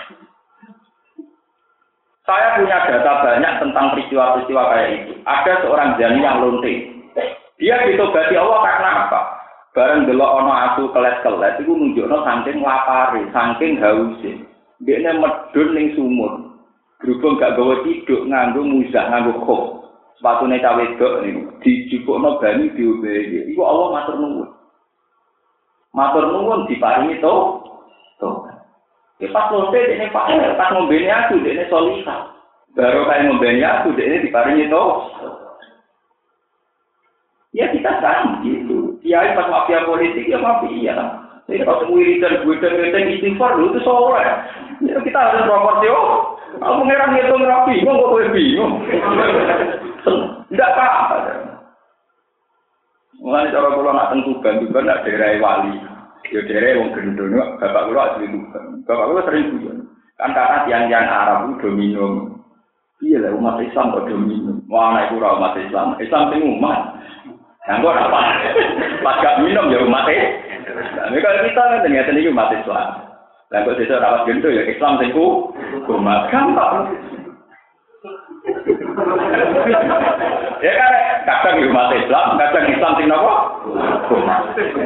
Saya punya data banyak tentang peristiwa-peristiwa kayak itu. Ada seorang jani yang lonte. Dia ditobati Allah karena apa? Bareng delok ono asu kelet-kelet itu nunjukno saking lapare, saking hause. Dekne medhun ning sumur. Berhubung gak gawe tiduk nganggo muzah nganggo khuf. Sepatune cawe wedok niku dijupukno banyu diombe. Iku Allah matur nuwun. Matur nuwun diparingi to. To. Ki pas lonte dekne pas pas ngombene aku dekne solihah. Baru kae ngombene aku dekne diparingi to. Ya kita kan gitu. Kiai pas mafia politik ya mafia. Ini kalau wiridan wiridan istighfar itu soleh. Ya kita harus proporsional. Aku mengira ngitung rapi, kok kok kowe bingung. Enggak apa-apa. Mulai cara kula nak teng Tuban, Tuban nak daerah wali. Ya daerah wong gendone, bapak kula asli Tuban. Bapak kula sering guyon. Kan kata tiang-tiang Arab itu minum. Iya lah umat Islam kok minum. Wah, nek ora umat Islam, Islam sing umat. Nganggo apa? Pas gak minum ya umat Islam. Nek kita kan ternyata iki umat Islam. Lah kok desa rawat gendho ya Islam sing ku umat gampang. Ya kan kadang umat Islam, kadang Islam sing napa? Umat.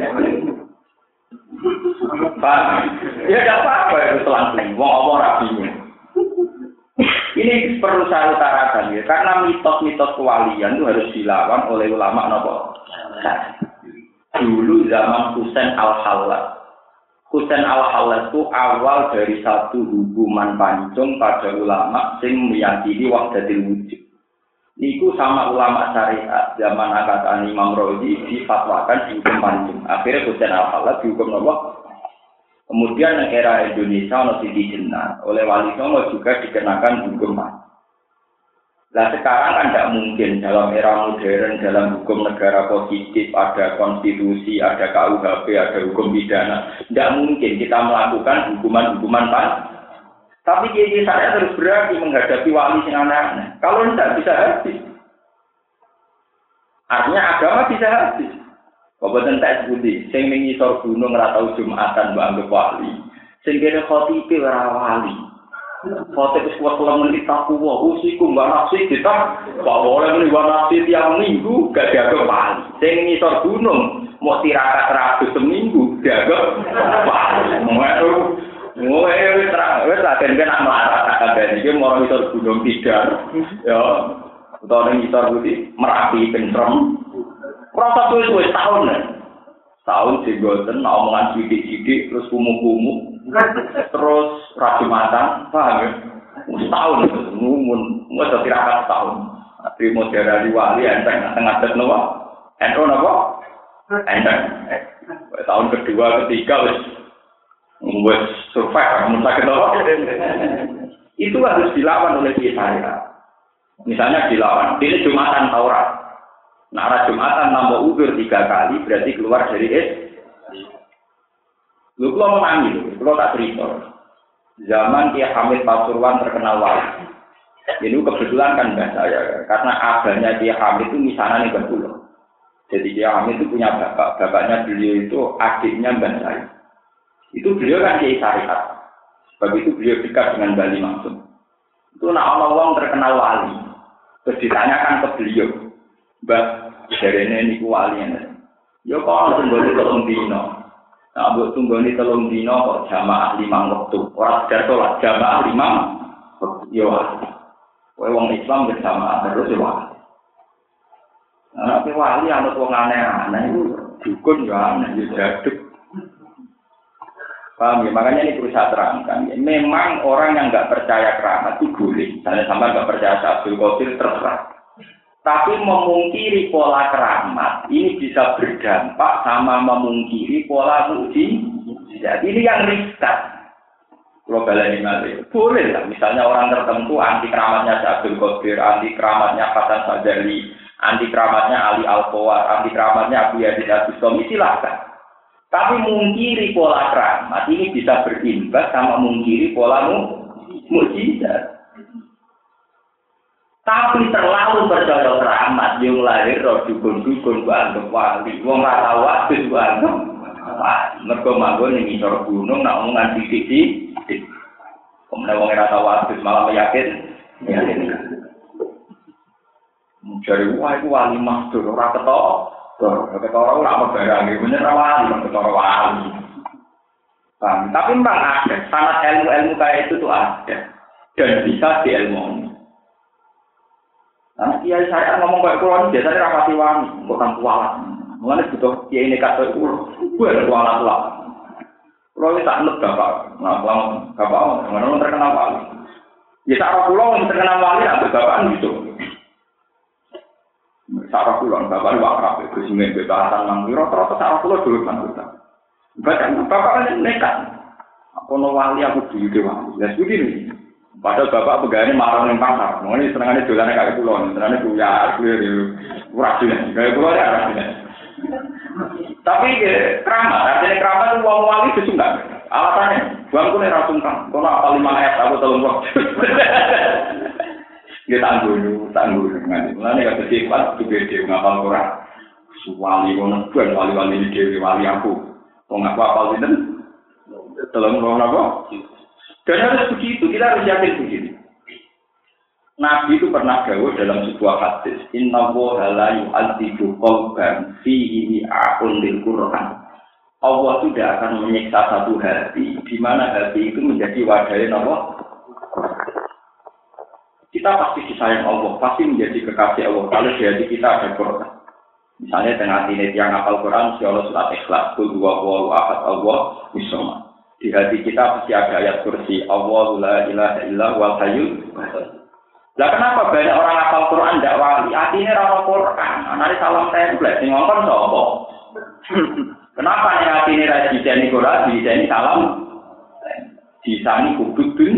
Pak, ya enggak apa-apa itu selang-seling. Wong apa ora bingung. Ini perlu saya utarakan ya, karena mitos-mitos kewalian itu harus dilawan oleh ulama napa? Dulu zaman Husain Al-Hallaj. Husain Al-Hallaj itu awal dari satu hubungan pancung pada ulama sing meyakini wahdatul wujud. Niku sama ulama syariat zaman angkatan Imam Razi difatwakan dihukum pancung. Akhirnya Husain Al-Hallaj dihukum napa? Kemudian yang era Indonesia masih dikenal oleh Wali Songo juga dikenakan hukum mati. Nah sekarang kan tidak mungkin dalam era modern dalam hukum negara positif ada konstitusi, ada K U H P, ada hukum pidana. Tidak mungkin kita melakukan hukuman-hukuman mati. Tapi jadi saya terus berani menghadapi wali yang aneh-aneh. Kalau tidak bisa habis. Artinya agama bisa habis. Kok boten tak sebuti, sing ning ngisor gunung ora tau Jumatan mbok anggap wali. Sing kene khotibe ora wali. Khotib wis kuat lamun kita kuwo, usiku mbak nafsi kita, kok boleh muni mbak nafsi tiap minggu gak dianggap wali. Sing ngisor gunung mau tirakat ratus seminggu dianggap wali. Ngono wis terang, wis lah ben nak melarat kabeh iki mau ngisor gunung Tidar. Ya, utawa ngisor putih Merapi Pentrem. Proses suwe-suwe tahun nih. Tahun digoten omongan sidik-sidik terus kumuh-kumuh. Terus rajumatan, paham ya? Setahun itu, ngumun, nggak tirakat setahun. Terima dari wali, enteng, tengah-tengah nopo, enteng nopo, enteng. Tahun kedua, ketiga, wis, wis survive, kamu sakit nopo. Itu harus dilawan oleh kita. Misalnya dilawan, ini Jumatan Taurat. Nah, arah Jumatan nambah udur tiga kali, berarti keluar dari es. Lu kalau mau nangis, kalau tak cerita. Zaman Kiai Hamid Pasuruan terkenal wali. Ini kebetulan kan mbak saya, karena abahnya Kiai Hamid itu misalnya nih betul. Jadi Kiai Hamid itu punya bapak, bapaknya beliau itu adiknya mbak saya. Itu beliau kan Kiai Syariat. Sebab itu beliau dekat dengan Bali Maksum. Itu nak orang terkenal wali. Terus ditanyakan ke beliau. Mbak, dari ini wali ini. Ya kok tunggu telung dino. Nah, buat tunggu ini telung dino kok jamaah lima waktu. Orang sekedar sholat jamaah lima. Ya wali. Wong Islam bersama terus ya wali. Nah, tapi wali ada wong aneh-aneh itu dukun ya aneh, ya jaduk. Paham ya? Makanya ini perlu saya terangkan. Ya. Memang orang yang nggak percaya keramat itu boleh. Misalnya sampai nggak percaya Abdul Qadir terserah. Tapi memungkiri pola keramat ini bisa berdampak sama memungkiri pola mukjizat. Ini yang riskan. Global ini boleh lah. Misalnya orang tertentu anti keramatnya Abdul Qadir, anti keramatnya Hasan Sadali, anti keramatnya Ali Al-Qawar, anti keramatnya Abu Yazid Al-Bustami, silahkan. Tapi mungkiri pola keramat ini bisa berimbas sama mungkiri pola mukjizat. Tapi terlalu percaya keramat yang lahir roh dukun-dukun banget wali. Wong ora tau wadus banget. Mergo manggon ning ngisor gunung nak omongan sithik-sithik. Kemudian wong ora tau wadus malah yakin. Yakin. Mencari wah itu wali maksud ora ketok. Ora ketok ora apa barang iki bener wali, ketok wali. Bang, tapi memang ada sanad ilmu-ilmu kayak itu tuh ada dan bisa diilmoni. Nah, kiai saya ngomong kayak kulon biasanya rapati wani, bukan kualat. Mengenai butuh kiai ini kata itu, gue ada kualat lah. Kulon ini tak nut bapak, nah kulon bapak, mana terkenal wali. Ya cara kulon terkenal wali, ada bapak gitu. Cara kulon bapak wakrab, itu sini bebasan manggi. Rata-rata cara kulon dulu kan kita. Bahkan bapak kan nekat. Aku no wali aku dulu wali. Ya begini. Padahal bapak pegawai marah ning pasar. Mengene senengane dolane kaya kula, senengane buyar, ora jelas. Kaya kula ya ora jelas. Tapi keramat, artinya keramat itu wong wali itu enggak. Alasannya, bangku nek ra sungkan, kono apa lima ayat aku telung kok. Dia tangguh, tangguh ngene. Mulane gak sifat gede ngapal Quran. Wali ngono ben wali-wali dhewe wali aku. Wong aku apal sinten? Telung kok napa? Dan harus begitu, kita harus yakin begitu. Nabi itu pernah dawuh dalam sebuah hadis, Inna woha la yu'adzibu qalban fihi a'un lil Qur'an. Allah tidak akan menyiksa satu hati, di mana hati itu menjadi wadahnya Allah. Kita pasti disayang Allah, pasti menjadi kekasih Allah. Kalau di hati kita ada Quran. Misalnya dengan hati yang hafal Quran, insya Allah surat Ikhlas, Qul huwallahu ahad, Allah misoma. Di hati kita pasti ada ayat kursi Allahu la ilaha illa huwal hayyul qayyum. Lah kenapa banyak orang hafal Quran ndak wali? Artinya ora Quran, anane salam template sing ngomong sapa? Kenapa nek atine ra dijeni Quran, dijeni salam? Disani kubudun.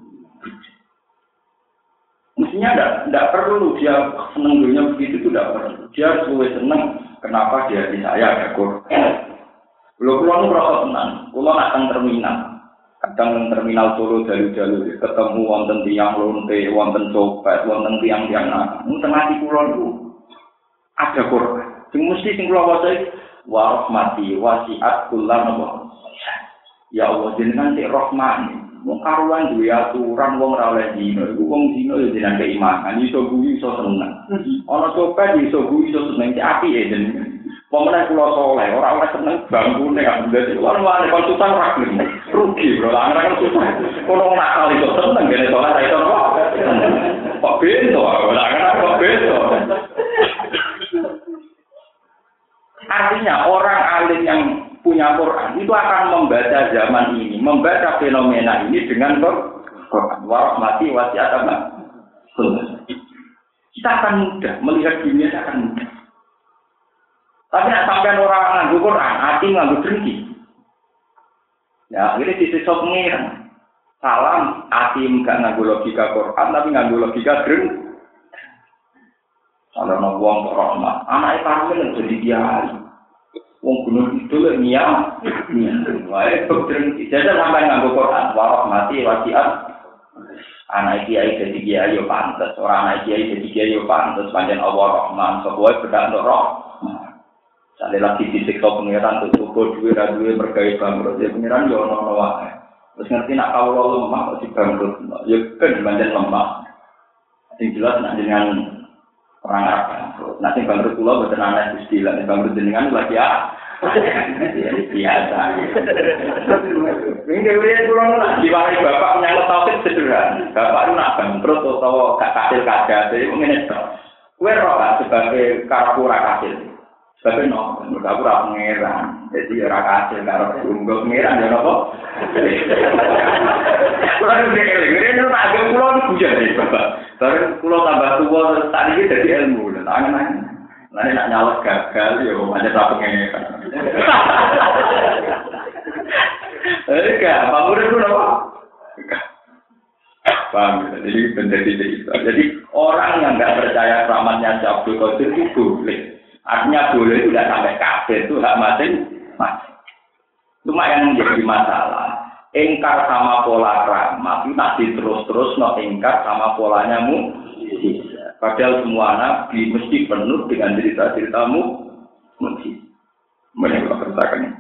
Mestinya ndak ndak perlu dia seneng dunia begitu itu ndak perlu. Dia suwe seneng kenapa dia di saya ada Quran. Kalau pulau merasa tenang, pulau nak teng terminal, kadang teng terminal Solo jalu-jalu, ketemu wonten tiang lonte, wonten copet, wonten tiang-tiang nak, tengah di pulau itu ada Quran. Sing mesti sing pulau waca wa rahmati wasi'at kullan wa. Ya Allah jenengan sik rahman. Wong karuan duwe aturan wong ora oleh dino, iku wong dino yo jenengan keimanan, iso guyu iso seneng. Ana copet iso guyu iso seneng cek apike jenengan. Pemenang kula soleh, ora oleh seneng bangkune kan dadi lan wale kon susah ora gelem. Rugi bro, lan kan susah. Kono nakal iso seneng ngene soleh ra iso kok. Kok bento, ora kan kok bento. Artinya orang alim yang punya Quran itu akan membaca zaman ini, membaca fenomena ini dengan Quran. Warahmati wasiat apa? Kita akan mudah melihat dunia akan mudah. Tapi nak sampai orang nganggu Quran, hati nganggu dengki. Ya, ini sisi sok pengiran. Salam, hati enggak nganggu logika Quran, tapi nganggu logika dengki. Kalau nak buang rahmat, anak kami jadi kiai. Wong gunung itu lek niat, niat. Wae dokter jajan sampai nganggo Quran, warahmati wasiat. Anak kiai jadi kiai yo pantes, ora anak kiai jadi kiai yo pantes, pancen Allah Rahman, sebuah bedak roh. Sale lagi disiksa pengiran tuh cukup duwe ra duwe mergawe bangkrut, ya pengiran yo ono wae. Terus ngerti nak kawula lemah kok dibangkrut, ya kan pancen lemah. Sing jelas nak dengan orang Arab bangkrut. Nanti bangkrut pulau betul anak istilah. Bangkrut jenengan lagi ya. Biasa. Ini kemudian kurang lah. Diwari bapak menyangkut tauhid sederhana. Bapak itu nak bangkrut atau gak kasil kaca. Jadi mungkin itu. Kue roh kan sebagai karapura kasil. Sebagai no. Karapura pengeran. Jadi orang kasil karapura unggul pengeran. Ya apa? Kurang lebih kemudian itu tak ada pulau itu hujan nih bapak. Baru pulau tambah tua terus tadi kita jadi ilmu. Tangan-tangan. Nanti nak nyalek gagal, ya macam tak pengen. Enggak, Pak Murid itu apa? Paham? Jadi menjadi itu. Jadi orang yang nggak percaya rahmatnya Abdul Qadir itu boleh. Artinya boleh itu tidak sampai kafir, itu hak masing-masing. Cuma yang menjadi masalah, ingkar sama pola rahmat itu nanti terus-terus no ingkar sama polanya mu. Padahal semua nabi mesti penuh dengan cerita-ceritamu mesti. Mereka berkatakan,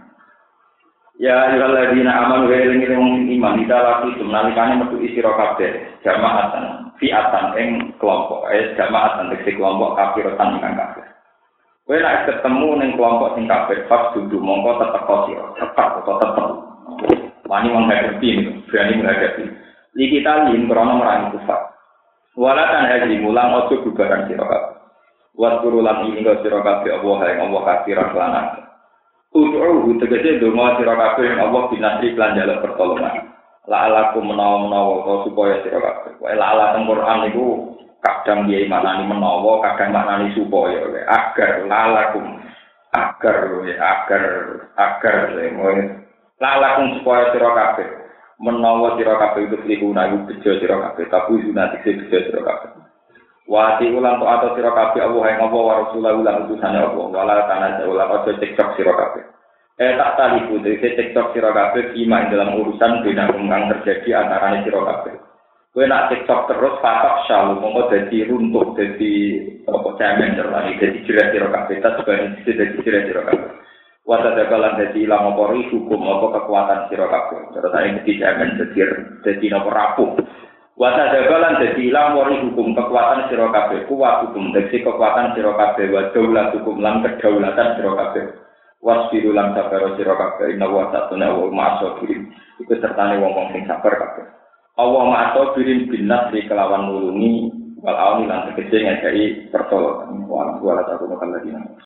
ya ayyuhalladzina amanu wa ilaikum iman idalati sunalikane metu isira kabeh jamaatan fi'atan ing kelompok eh jamaatan ing kelompok kafiratan ingkang kabeh. Kowe nek ketemu ning kelompok sing kafir pas dudu mongko tetep sira, tetep atau tetep. Wani menghadapi, berani menghadapi. Li kita lin krono merangi kufar. Walatan haji mulang ojo bubaran sira kabeh. Wa turulan ini kok sira kabeh Allah yang Allah kafiran lanan. Ud'uhu tegese donga sira kabeh yang Allah binasri lan jaluk pertolongan. La alakum menawa-menawa supaya sira kabeh. Wae la ala teng Quran niku kadang dia maknani menawa, kadang maknani supaya agar lalakum agar agar agar la alakum supaya sira kabeh. Menawa sira kabeh itu diguna iku bejo sira kabeh tapi sunat sing bejo sira kabeh wati ulang to atau sira kabeh Allah yang apa wa rasulullah ulang utusane Allah wala tanah ulang aja cekcok sira kabeh eh tak taliku dadi cekcok sira kabeh kima dalam urusan bina kang terjadi antarané sira kabeh kowe nak cekcok terus patok syalu mongko dadi runtuh dadi apa cemen terlani dadi jerat sira kabeh tak sebagai dadi jerat sira kabeh wata dagalan dadi ilang apa hukum apa kekuatan sira kabeh. Terus ane mesti jaman dadi dadi napa rapuh. Wata dagalan dadi ilang wari hukum kekuatan sira kabeh. Kuat hukum dadi kekuatan sira kabeh wa daulat hukum lan kedaulatan sira kabeh. Wasbiru lan sabar sira kabeh. Inna wa ta'ala wa ma'asabirin. Iku sertane wong-wong sing sabar kabeh. Allah ma'asabirin bin nasri kelawan nulungi wal auni lan tegese ngajari pertolongan. Wa ala ta'ala lagi.